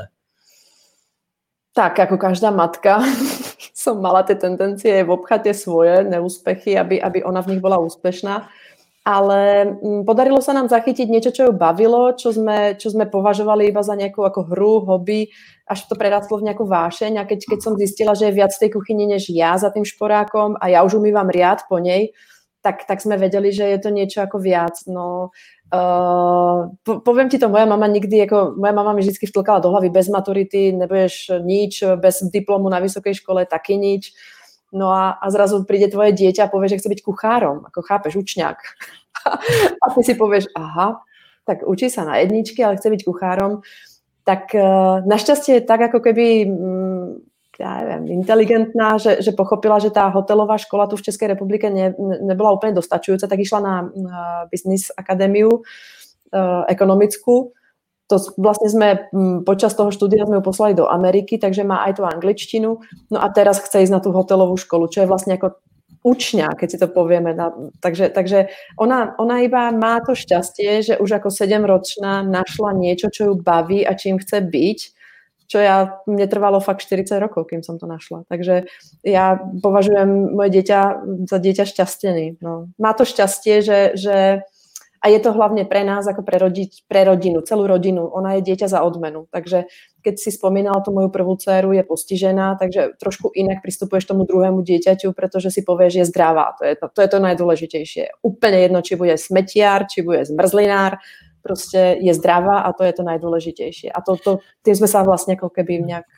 Tak, ako každá matka som mala tie tendencie obchať tie svoje neúspechy, aby, aby ona v nich bola úspešná. Ale podarilo sa nám zachytiť niečo, čo ju bavilo, čo sme, čo sme považovali iba za nejakú ako hru, hobby, až to prerástlo v nejakú vášeň. A keď, keď som zistila, že je viac v tej kuchyni než ja za tým šporákom a ja už umývam riad po nej, tak, tak sme vedeli, že je to niečo ako viac. No, Uh, po, poviem ti to, moja mama nikdy, ako, moja mama mi vždy vtlkala do hlavy, bez maturity nebudeš nič, bez diplomu na vysokej škole taky nič. No a, a zrazu príde tvoje dieťa a povie, že chce byť kuchárom, ako chápeš, učňák. A ty si povieš, aha, tak učí sa na jedničky, ale chce byť kuchárom. Tak uh, našťastie je tak, ako keby mm, ja neviem, inteligentná, že, že pochopila, že tá hotelová škola tu v Českej republike ne, nebola úplne dostačujúca, tak išla na, na Business Akadémiu uh, ekonomickú. To vlastne sme m, počas toho štúdia sme ju poslali do Ameriky, takže má aj tú angličtinu. No a teraz chce ísť na tú hotelovú školu, čo je vlastne ako učňa, keď si to povieme. Na, takže takže ona, ona iba má to šťastie, že už ako sedemročná našla niečo, čo ju baví a čím chce byť, čo ja, mne trvalo fakt štyridsať rokov, kým som to našla. Takže ja považujem moje dieťa za dieťa šťastený. No. Má to šťastie, že, že a je to hlavne pre nás, ako pre, rodič, pre rodinu, celú rodinu. Ona je dieťa za odmenu. Takže keď si spomínala tú moju prvú dceru, je postižená, takže trošku inak pristupuješ tomu druhému dieťaťu, pretože si povieš, že je zdravá. To je to, to je to najdôležitejšie. Úplne jedno, či bude smetiar, či bude zmrzlinár, proste je zdravá a to je to najdôležitejšie. A to, to, tým sme sa vlastne ako keby nejak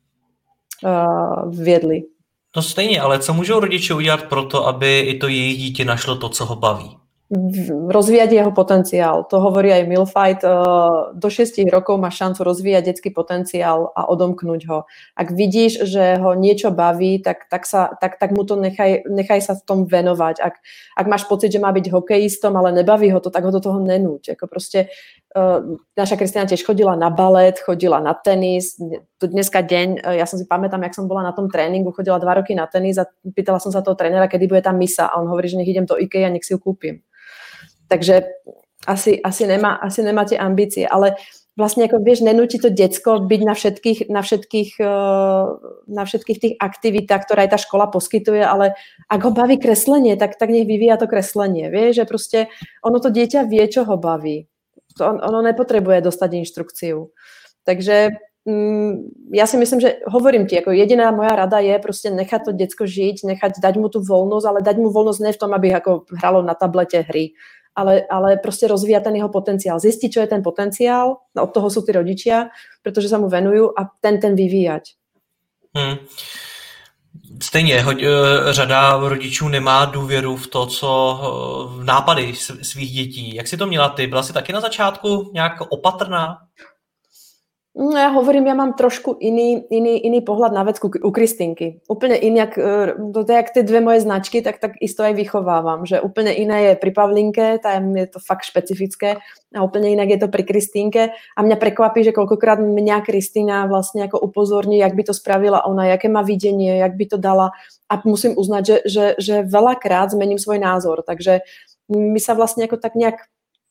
uh, viedli. No stejně, ale co můžou rodiče udělat pro to, aby i to jejich dítě našlo to, co ho baví? Rozvíjať jeho potenciál. To hovorí aj Milfight. Do šiestich rokov má šancu rozvíjať detský potenciál a odomknúť ho. Ak vidíš, že ho niečo baví, tak, tak, sa, tak, tak mu to nechaj, nechaj sa v tom venovať. Ak, ak máš pocit, že má byť hokejistom, ale nebaví ho to, tak ho do toho nenúť. Ako proste, uh, naša Kristina tiež chodila na balet, chodila na tenis. Dneska deň, ja som si pamätám, jak som bola na tom tréningu, chodila dva roky na tenis a pýtala som sa toho trénera, kedy bude tam misa. A on hovorí, že nech idem do IKEA a nech si ju kúpim. Takže asi, asi, nemá, asi nemá tie ambície, ale vlastne ako vieš, nenúti to decko byť na všetkých, na všetkých, na všetkých tých aktivitách, ktoré aj tá škola poskytuje, ale ak ho baví kreslenie, tak, tak nech vyvíja to kreslenie, vieš, že proste ono to dieťa vie, čo ho baví. On, ono nepotrebuje dostať inštrukciu. Takže mm, ja si myslím, že hovorím ti, ako jediná moja rada je proste nechať to decko žiť, nechať, dať mu tú voľnosť, ale dať mu voľnosť ne v tom, aby ako hralo na tablete hry, Ale, ale proste rozvíja ten jeho potenciál. Zistiť, čo je ten potenciál, no od toho sú tí rodičia, pretože sa mu venujú a ten, ten vyvíjať. Hmm. Stejně, hoď, eh, řada rodičů nemá důvěru v to, co v nápady svých dětí. Jak jsi to měla ty? Byla jsi taky na začátku nějak opatrná? No ja hovorím, ja mám trošku iný, iný, iný pohľad na vec u Kristýnky. Úplne inak, to je jak tie dve moje značky, tak, tak isto aj vychovávam. Že úplne iné je pri Pavlinke, tam je to fakt špecifické a úplne inak je to pri Kristýnke. A mňa prekvapí, že koľkokrát mňa Kristýna vlastne ako upozorní, jak by to spravila ona, jaké má videnie, jak by to dala. A musím uznať, že, že, že veľakrát zmením svoj názor. Takže my sa vlastne ako tak nejak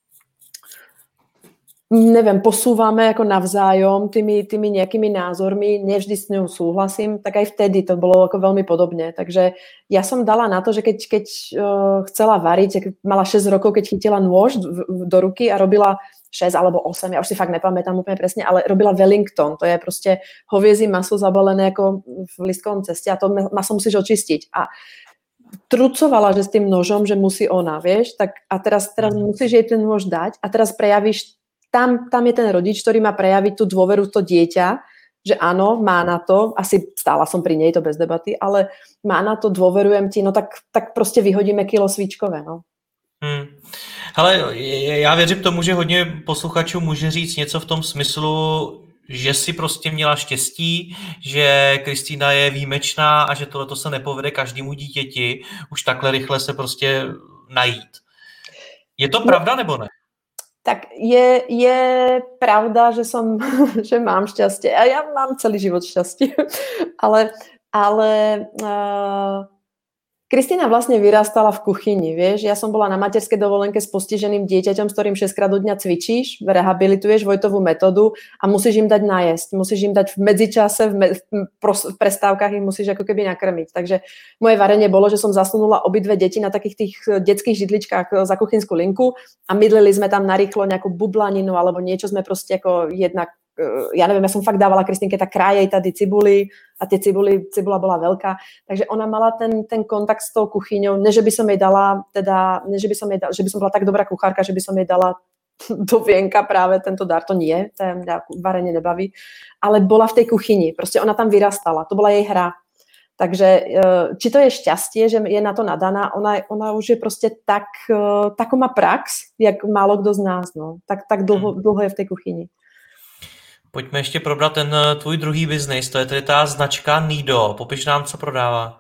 neviem, posúvame ako navzájom tými, tými nejakými názormi, nevždy s ňou súhlasím, tak aj vtedy to bolo ako veľmi podobne. Takže ja som dala na to, že keď, keď uh, chcela variť, mala šesť rokov, keď chytila nôž do, do ruky a robila šesť alebo osem, ja už si fakt nepamätám úplne presne, ale robila Wellington, to je proste hoviezí maso zabalené ako v listkovom ceste a to maso musíš očistiť. A trucovala, že s tým nožom, že musí ona, vieš, tak a teraz, teraz musíš jej ten nôž dať a teraz prejavíš Tam, tam je ten rodič, ktorý má prejaviť tú dôveru, to dieťa, že áno, má na to, asi stála som pri nej, to bez debaty, ale má na to, dôverujem ti, no tak, tak prostě vyhodíme kilo svíčkové, no. Hmm. Hele, já věřím tomu, že hodně posluchačů může říct něco v tom smyslu, že si prostě měla štěstí, že Kristýna je výjimečná a že tohleto se nepovede každému dítěti už takhle rychle se prostě najít. Je to pravda nebo ne? Tak je, je pravda, že som, že mám šťastie. A ja mám celý život šťastie. ale ale uh, Kristýna vlastne vyrastala v kuchyni, vieš. Ja som bola na materskej dovolenke s postiženým dieťaťom, s ktorým šesťkrát do dňa cvičíš, rehabilituješ Vojtovú metódu a musíš im dať najesť. Musíš im dať v medzičase, v, me, v prestávkach im musíš ako keby nakrmiť. Takže moje varenie bolo, že som zasunula obidve deti na takých tých detských židličkách za kuchynskú linku a mydlili sme tam narýchlo nejakú bublaninu alebo niečo sme proste ako jednak ja neviem, ja som fakt dávala Kristýnke tak krájej tady cibuli a tie cibuli, cibula bola veľká, takže ona mala ten, ten kontakt s tou kuchyňou, ne, že by som jej dala, teda, ne, že by som jej dala, že by som bola tak dobrá kuchárka, že by som jej dala do vienka práve tento dar, to nie, to mňa varenie nebaví, ale bola v tej kuchyni, proste ona tam vyrastala, to bola jej hra. Takže či to je šťastie, že je na to nadaná, ona, ona už je proste tak, takú má prax, jak málo kdo z nás, no. Tak, tak dlho, dlho je v tej kuchyni. Pojďme ještě probrat ten tvůj druhý biznis, to je tedy tá značka Nido. Popiš nám, co prodává.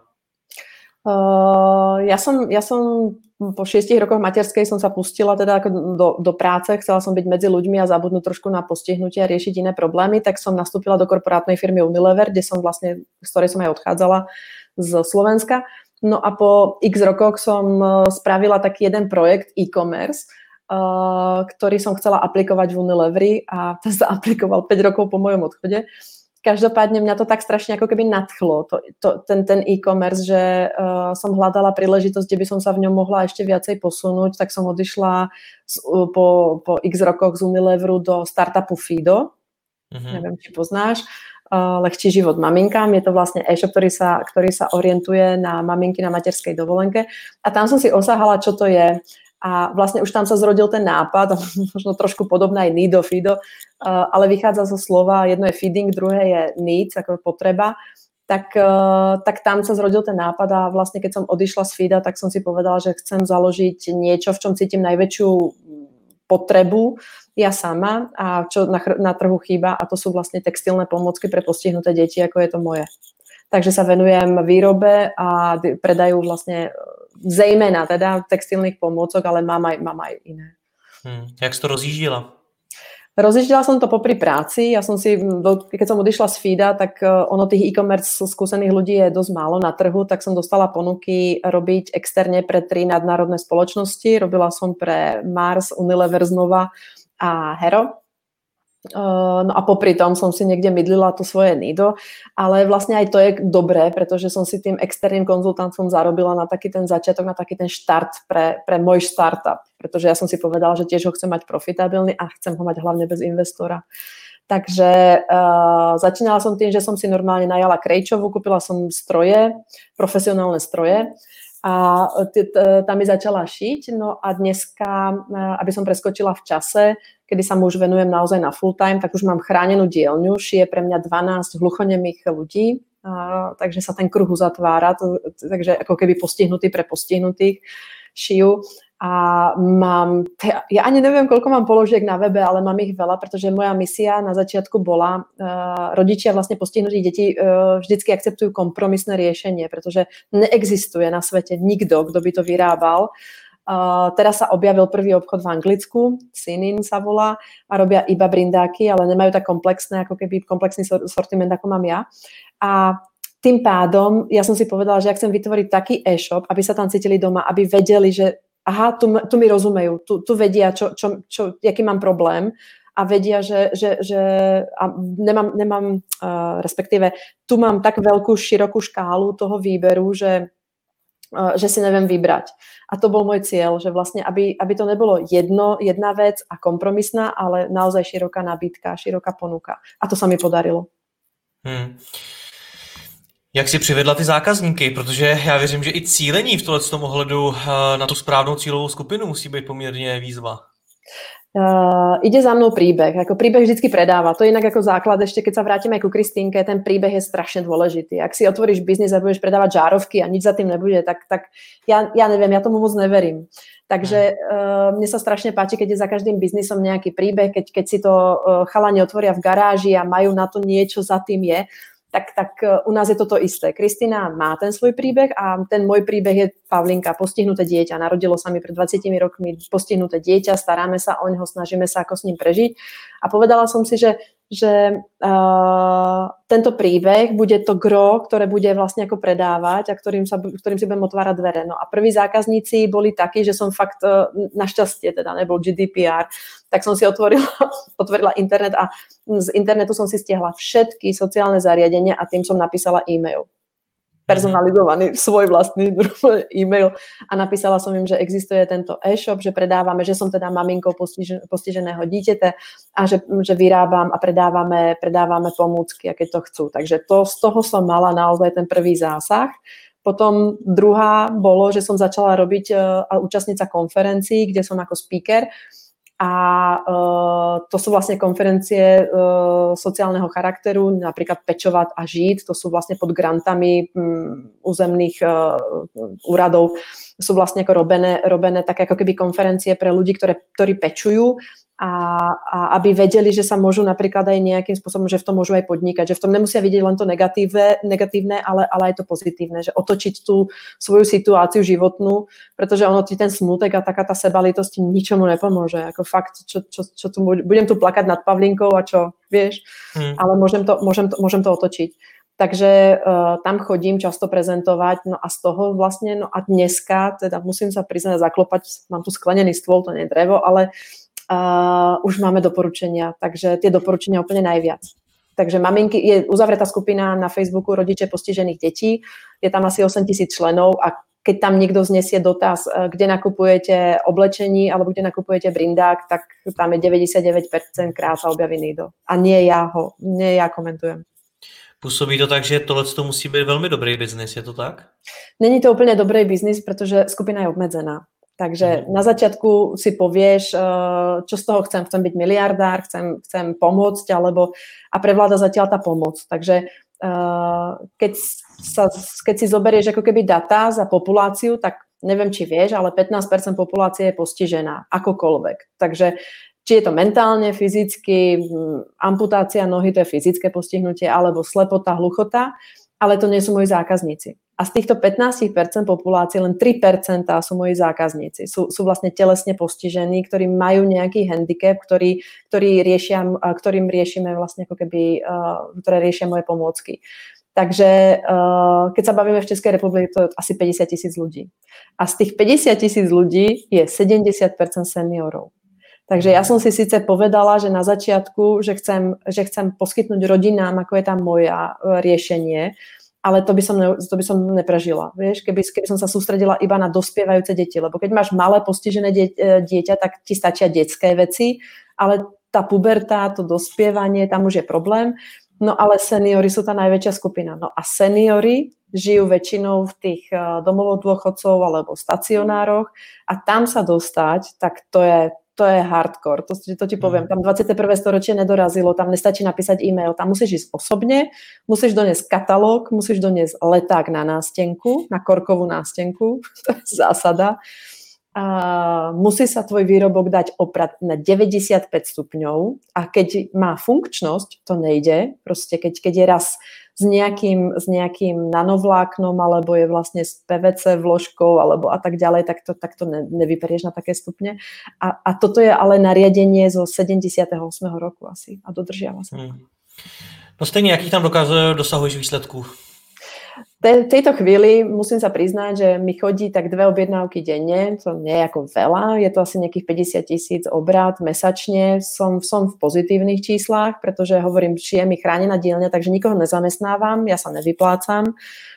Uh, ja, som, ja som po šiestich rokoch materskej som sa pustila teda ako do, do práce, chcela som byť medzi ľuďmi a zabudnúť trošku na postihnutie a riešiť iné problémy, tak som nastúpila do korporátnej firmy Unilever, kde som vlastne, z ktorej som aj odchádzala z Slovenska. No a po x rokoch som spravila taký jeden projekt e-commerce, Uh, ktorý som chcela aplikovať v Unileveri a to sa aplikoval päť rokov po mojom odchode. Každopádne mňa to tak strašne ako keby nadchlo, to, to, ten, ten e-commerce, že uh, som hľadala príležitosť, kde by som sa v ňom mohla ešte viacej posunúť, tak som odišla z, uh, po, po x rokoch z Unileveru do startupu Fido. Mm-hmm. Neviem, či poznáš. Uh, Lehčí život maminkám. Je to vlastne e-shop, ktorý sa, ktorý sa orientuje na maminky na materskej dovolenke. A tam som si osahala, čo to je. A vlastne už tam sa zrodil ten nápad, možno trošku podobná aj Nido, Fido, ale vychádza zo slova, jedno je feeding, druhé je needs, ako potreba, tak, tak tam sa zrodil ten nápad a vlastne keď som odišla z Fida, tak som si povedala, že chcem založiť niečo, v čom cítim najväčšiu potrebu ja sama a čo na, na trhu chýba a to sú vlastne textilné pomôcky pre postihnuté deti, ako je to moje. Takže sa venujem výrobe a predaju vlastne zejména teda textilných pomôcok, ale mám aj, mám aj iné. Hmm. Jak si to rozjíždila? Rozjíždila som to popri práci. Ja som si, keď som odišla z Fida, tak ono tých e-commerce skúsených ľudí je dosť málo na trhu, tak som dostala ponuky robiť externe pre tri nadnárodné spoločnosti. Robila som pre Mars, Unilever znova a Hero. No a popri tom som si niekde mydlila to svoje Nido, ale vlastne aj to je dobré, pretože som si tým externým konzultantom zarobila na taký ten začiatok, na taký ten štart pre, pre môj startup, pretože ja som si povedala, že tiež ho chcem mať profitabilný a chcem ho mať hlavne bez investora. Takže uh, začínala som tým, že som si normálne najala Krejčovu, kúpila som stroje, profesionálne stroje a tam mi začala šiť. No a dneska, aby som preskočila v čase, kedy sa mu už venujem naozaj na full time, tak už mám chránenú dielňu, šije pre mňa dvanásť hluchonemých ľudí, uh, takže sa ten kruh uzatvára, to, takže ako keby postihnutý pre postihnutých šijú. A mám, ja ani neviem, koľko mám položiek na webe, ale mám ich veľa, pretože moja misia na začiatku bola, uh, rodičia vlastne postihnutých detí uh, vždycky akceptujú kompromisné riešenie, pretože neexistuje na svete nikto, kto by to vyrábal. Uh, teraz sa objavil prvý obchod v Anglicku, Sinin sa volá, a robia iba brindáky, ale nemajú tak komplexné, ako keby komplexný sortiment, ako mám ja. A tým pádom ja som si povedala, že ja chcem vytvoriť taký e-shop, aby sa tam cítili doma, aby vedeli, že aha, tu, tu mi rozumejú, tu, tu vedia, čo, čo, čo, aký mám problém a vedia, že, že, že a nemám, nemám uh, respektíve tu mám tak veľkú, širokú škálu toho výberu, že, uh, že si neviem vybrať. A to bol môj cieľ, že vlastne, aby, aby to nebolo jedno, jedna vec a kompromisná, ale naozaj široká nabídka, široká ponuka. A to sa mi podarilo. Hmm. Jak si přivedla ty zákazníky? Protože já věřím, že i cílení v tomto ohledu na tu správnou cílovou skupinu musí být poměrně výzva. Uh, ide za mnou príbeh. Ako príbeh vždycky predáva. To je inak ako základ, ešte keď sa vrátime ku Kristínke, ten príbeh je strašne dôležitý. Ak si otvoríš biznis a budeš predávať žárovky a nič za tým nebude, tak, tak ja, ja neviem, ja tomu moc neverím. Takže uh, mne sa strašne páči, keď je za každým biznisom nejaký príbeh, keď, keď si to uh, chalani otvoria v garáži a majú na to niečo za tým je, tak, tak u nás je toto isté. Kristína má ten svoj príbeh a ten môj príbeh je Pavlinka, postihnuté dieťa. Narodilo sa mi pred dvadsiatimi rokmi postihnuté dieťa, staráme sa o neho, snažíme sa ako s ním prežiť. A povedala som si, že, že uh, tento príbeh bude to gro, ktoré bude vlastne ako predávať a ktorým, sa, ktorým si budem otvárať dvere. No a prví zákazníci boli takí, že som fakt uh, našťastie, teda nebol G D P R, tak som si otvorila, otvorila internet a z internetu som si stiahla všetky sociálne zariadenia a tým som napísala e-mail. Personalizovaný svoj vlastný e-mail a napísala som im, že existuje tento e-shop, že predávame, že som teda maminkou postižen, postiženého díťete a že, že vyrábam a predávame, predávame pomôcky, a keď to chcú. Takže to, z toho som mala naozaj ten prvý zásah. Potom druhá bolo, že som začala robiť a účastniť sa konferencií, kde som ako speaker. A uh, to sú vlastne konferencie uh, sociálneho charakteru, napríklad Pečovať a žiť, to sú vlastne pod grantami um, územných uh, úradov, sú vlastne ako robené, robené také ako keby konferencie pre ľudí, ktoré, ktorí pečujú a, a aby vedeli, že sa môžu napríklad aj nejakým spôsobom, že v tom môžu aj podnikať, že v tom nemusia vidieť len to negatívne, negatívne ale, ale aj to pozitívne, že otočiť tú svoju situáciu životnú, pretože ono ti ten smutek a taká tá sebalítosť ničomu nepomôže. Ako fakt, čo, čo, čo tu, budem tu plakať nad Pavlinkou a čo, vieš, hmm. ale môžem to, môžem to, môžem to otočiť. Takže uh, tam chodím často prezentovať, no a z toho vlastne, no a dneska, teda musím sa priznať zaklopať, mám tu sklenený stôl, to nie je drevo, ale Uh, už máme doporučenia, takže tie doporučenia úplne najviac. Takže maminky, je uzavretá skupina na Facebooku rodiče postižených detí, je tam asi osem tisíc členov a keď tam niekto znesie dotaz, kde nakupujete oblečení alebo kde nakupujete brindák, tak tam je deväťdesiatdeväť percent krát sa objaví niekto. A nie ja ho, nie ja komentujem. Působí to tak, že tohle to musí být velmi dobrý biznis, je to tak? Není to úplne dobrý biznis, pretože skupina je obmedzená. Takže na začiatku si povieš, čo z toho chcem. Chcem byť miliardár, chcem, chcem pomôcť, alebo a prevláda zatiaľ tá pomoc. Takže keď, sa, keď si zoberieš ako keby data za populáciu, tak neviem, či vieš, ale pätnásť percent populácie je postižená, akokoľvek. Takže či je to mentálne, fyzicky, amputácia nohy, to je fyzické postihnutie, alebo slepota, hluchota, ale to nie sú moji zákazníci. A z týchto pätnásť percent populácie len tri percentá sú moji zákazníci. Sú, sú vlastne telesne postižení, ktorí majú nejaký handicap, ktorý, ktorý riešia, ktorým riešime vlastne ako keby, uh, ktoré riešia moje pomôcky. Takže uh, keď sa bavíme v Českej republike, to je asi päťdesiat tisíc ľudí. A z tých päťdesiat tisíc ľudí je sedemdesiat percent seniorov. Takže ja som si síce povedala, že na začiatku, že chcem, že chcem poskytnúť rodinám, ako je tam moja uh, riešenie, ale to by som, ne, to by som neprežila. Vieš, keby, keby som sa sústredila iba na dospievajúce deti, lebo keď máš malé postižené die, dieťa, tak ti stačia detské veci, ale tá puberta, to dospievanie, tam už je problém. No ale seniori sú tá najväčšia skupina. No a seniori žijú väčšinou v tých domovoch dôchodcov alebo stacionároch a tam sa dostať, tak to je, to je hardcore, to, to ti poviem. Tam dvadsiate prvé storočie nedorazilo, tam nestačí napísať e-mail, tam musíš ísť osobne, musíš doniesť katalóg, musíš doniesť leták na nástenku, na korkovú nástenku, to je zásada. A musí sa tvoj výrobok dať oprať na deväťdesiatpäť stupňov a keď má funkčnosť, to nejde. Proste keď, keď je raz s nejakým, s nejakým nanovláknom alebo je vlastne s pé vé cé vložkou alebo a tak ďalej, tak to, tak to ne, nevyperieš na také stupne. A, a toto je ale nariadenie zo sedemdesiateho ôsmeho roku asi a dodržiava sa. Hmm. No stejně, jakých tam dokazuje, dosahuješ výsledků? V tejto chvíli musím sa priznať, že mi chodí tak dve objednávky denne, to nie je ako veľa, je to asi nejakých päťdesiat tisíc obrat mesačne, som, som v pozitívnych číslach, pretože hovorím, šijem mi chránená dielňa, takže nikoho nezamestnávam, ja sa nevyplácam.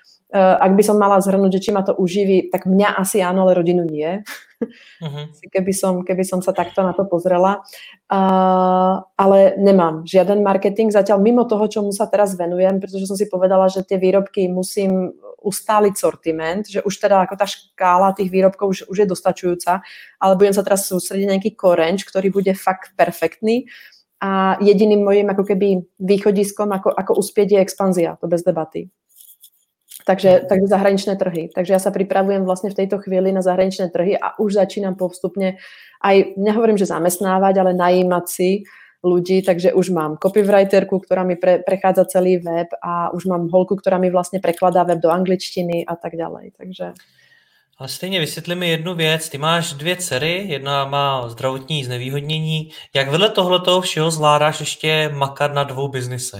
Ak by som mala zhrnúť, že či ma to uživí, tak mňa asi áno, ale rodinu nie. Uh-huh. Keby som, keby som sa takto na to pozrela. Uh, ale nemám žiaden marketing zatiaľ mimo toho, čomu sa teraz venujem, pretože som si povedala, že tie výrobky musím ustáliť sortiment, že už teda ako tá škála tých výrobkov už, už je dostačujúca, ale budem sa teraz sústrediť na nejaký korenč, ktorý bude fakt perfektný a jediným mojím ako keby východiskom, ako, ako uspieť je expanzia, to bez debaty. Takže, takže zahraničné trhy. Takže ja sa pripravujem vlastne v tejto chvíli na zahraničné trhy a už začínam postupne aj, nehovorím, že zamestnávať, ale najímať si ľudí, takže už mám copywriterku, ktorá mi pre, prechádza celý web a už mám holku, ktorá mi vlastne prekladá web do angličtiny a tak ďalej. Takže... Ale stejně vysvětli mi jednu věc. Ty máš dvě dcery, jedna má zdravotní znevýhodnění. Jak vedle tohletoho všeho zvládáš ještě makat na dvou biznisech?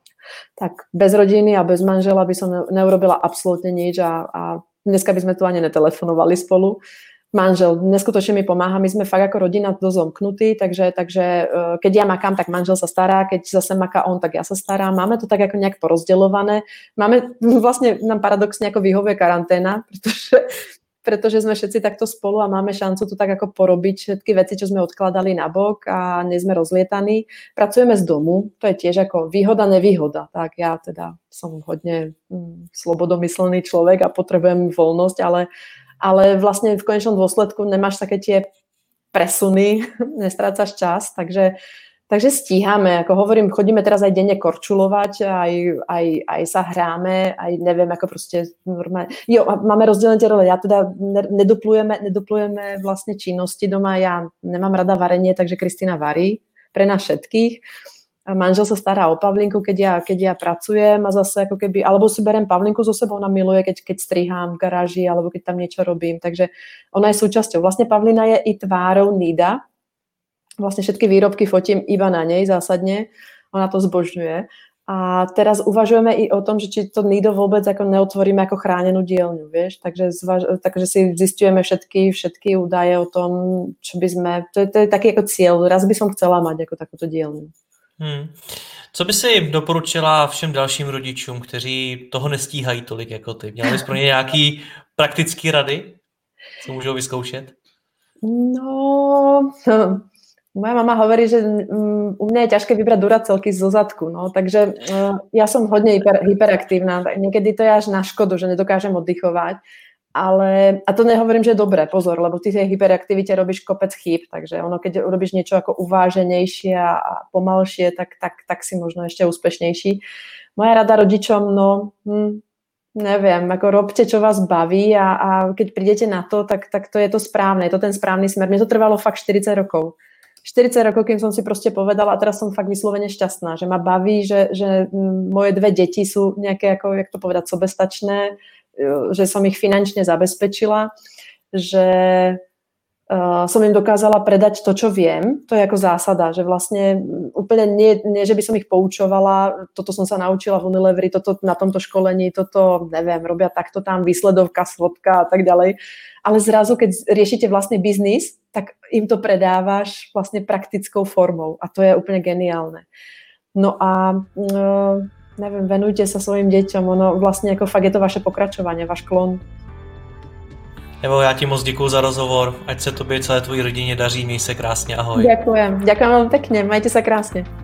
Tak bez rodiny a bez manžela by som neurobila absolútne nič a, a dneska by sme tu ani netelefonovali spolu. Manžel neskutočne mi pomáha, my sme fakt ako rodina dosť zomknutí, takže, takže keď ja makám, tak manžel sa stará, keď zase maká on, tak ja sa starám. Máme to tak ako nejak porozdeľované. Máme, vlastne nám paradoxne ako vyhovuje karanténa, pretože pretože sme všetci takto spolu a máme šancu tu tak ako porobiť všetky veci, čo sme odkladali na bok a nie sme rozlietaní. Pracujeme z domu, to je tiež ako výhoda, nevýhoda. Tak ja teda som hodne hm, slobodomyslný človek a potrebujem voľnosť, ale, ale vlastne v konečnom dôsledku nemáš také tie presuny, nestrácaš čas, takže Takže stíhame, ako hovorím, chodíme teraz aj denne korčulovať, aj, aj, aj sa hráme, aj neviem, ako proste normálne. Jo, máme rozdelené tie role, ja teda neduplujeme, neduplujeme vlastne činnosti doma, ja nemám rada varenie, takže Kristína varí pre nás všetkých. A manžel sa stará o Pavlinku, keď ja, keď ja pracujem a zase ako keby, alebo si berem Pavlinku so sebou, ona miluje, keď, keď strihám v garáži, alebo keď tam niečo robím, takže ona je súčasťou. Vlastne Pavlina je i tvárou Nida. Vlastne všetky výrobky fotím iba na nej zásadne. Ona to zbožňuje. A teraz uvažujeme i o tom, že či to Nido vôbec ako neotvoríme ako chránenú dielňu, vieš. Takže, zvaž- takže si zistujeme všetky, všetky údaje o tom, čo by sme... To je, to je taký ako cieľ. Raz by som chcela mať ako takúto dielňu. Hmm. Co by si doporučila všem dalším rodičům, kteří toho nestíhají tolik jako ty? Měla bys pro ně nějaký praktický rady, co můžou vyzkoušet? No... Moja mama hovorí, že u mňa je ťažké vybrať duracelky zo zadku, no, takže ja som hodne hyper, hyperaktívna, niekedy to je až na škodu, že nedokážem oddychovať, ale, a to nehovorím, že je dobré, pozor, lebo ty tej hyperaktivite robíš kopec chýb, takže ono, keď urobíš niečo ako uváženejšie a pomalšie, tak, tak, tak si možno ešte úspešnejší. Moja rada rodičom, no... Hm, neviem, ako robte, čo vás baví a, a keď prídete na to, tak, tak to je to správne, je to ten správny smer. Mne to trvalo fakt štyridsať rokov. štyridsať rokov, kým som si proste povedala a teraz som fakt vyslovene šťastná, že ma baví, že, že moje dve deti sú nejaké, ako, jak to povedať, sobestačné, že som ich finančne zabezpečila, že uh, som im dokázala predať to, čo viem. To je ako zásada, že vlastne úplne nie, nie, že by som ich poučovala, toto som sa naučila v Unileveri, toto na tomto školení, toto, neviem, robia takto tam, výsledovka, svodka a tak ďalej. Ale zrazu, keď riešite vlastný biznis, tak im to predávaš vlastne praktickou formou a to je úplne geniálne. No a no, neviem, venujte sa svojim deťom, ono vlastne ako fakt je to vaše pokračovanie, váš klon. Evo, já ti moc děkuju za rozhovor, ať se tobě celé tvojí rodině daří, měj se krásně, ahoj. Ďakujem, ďakujem vám pekne, majte sa krásne.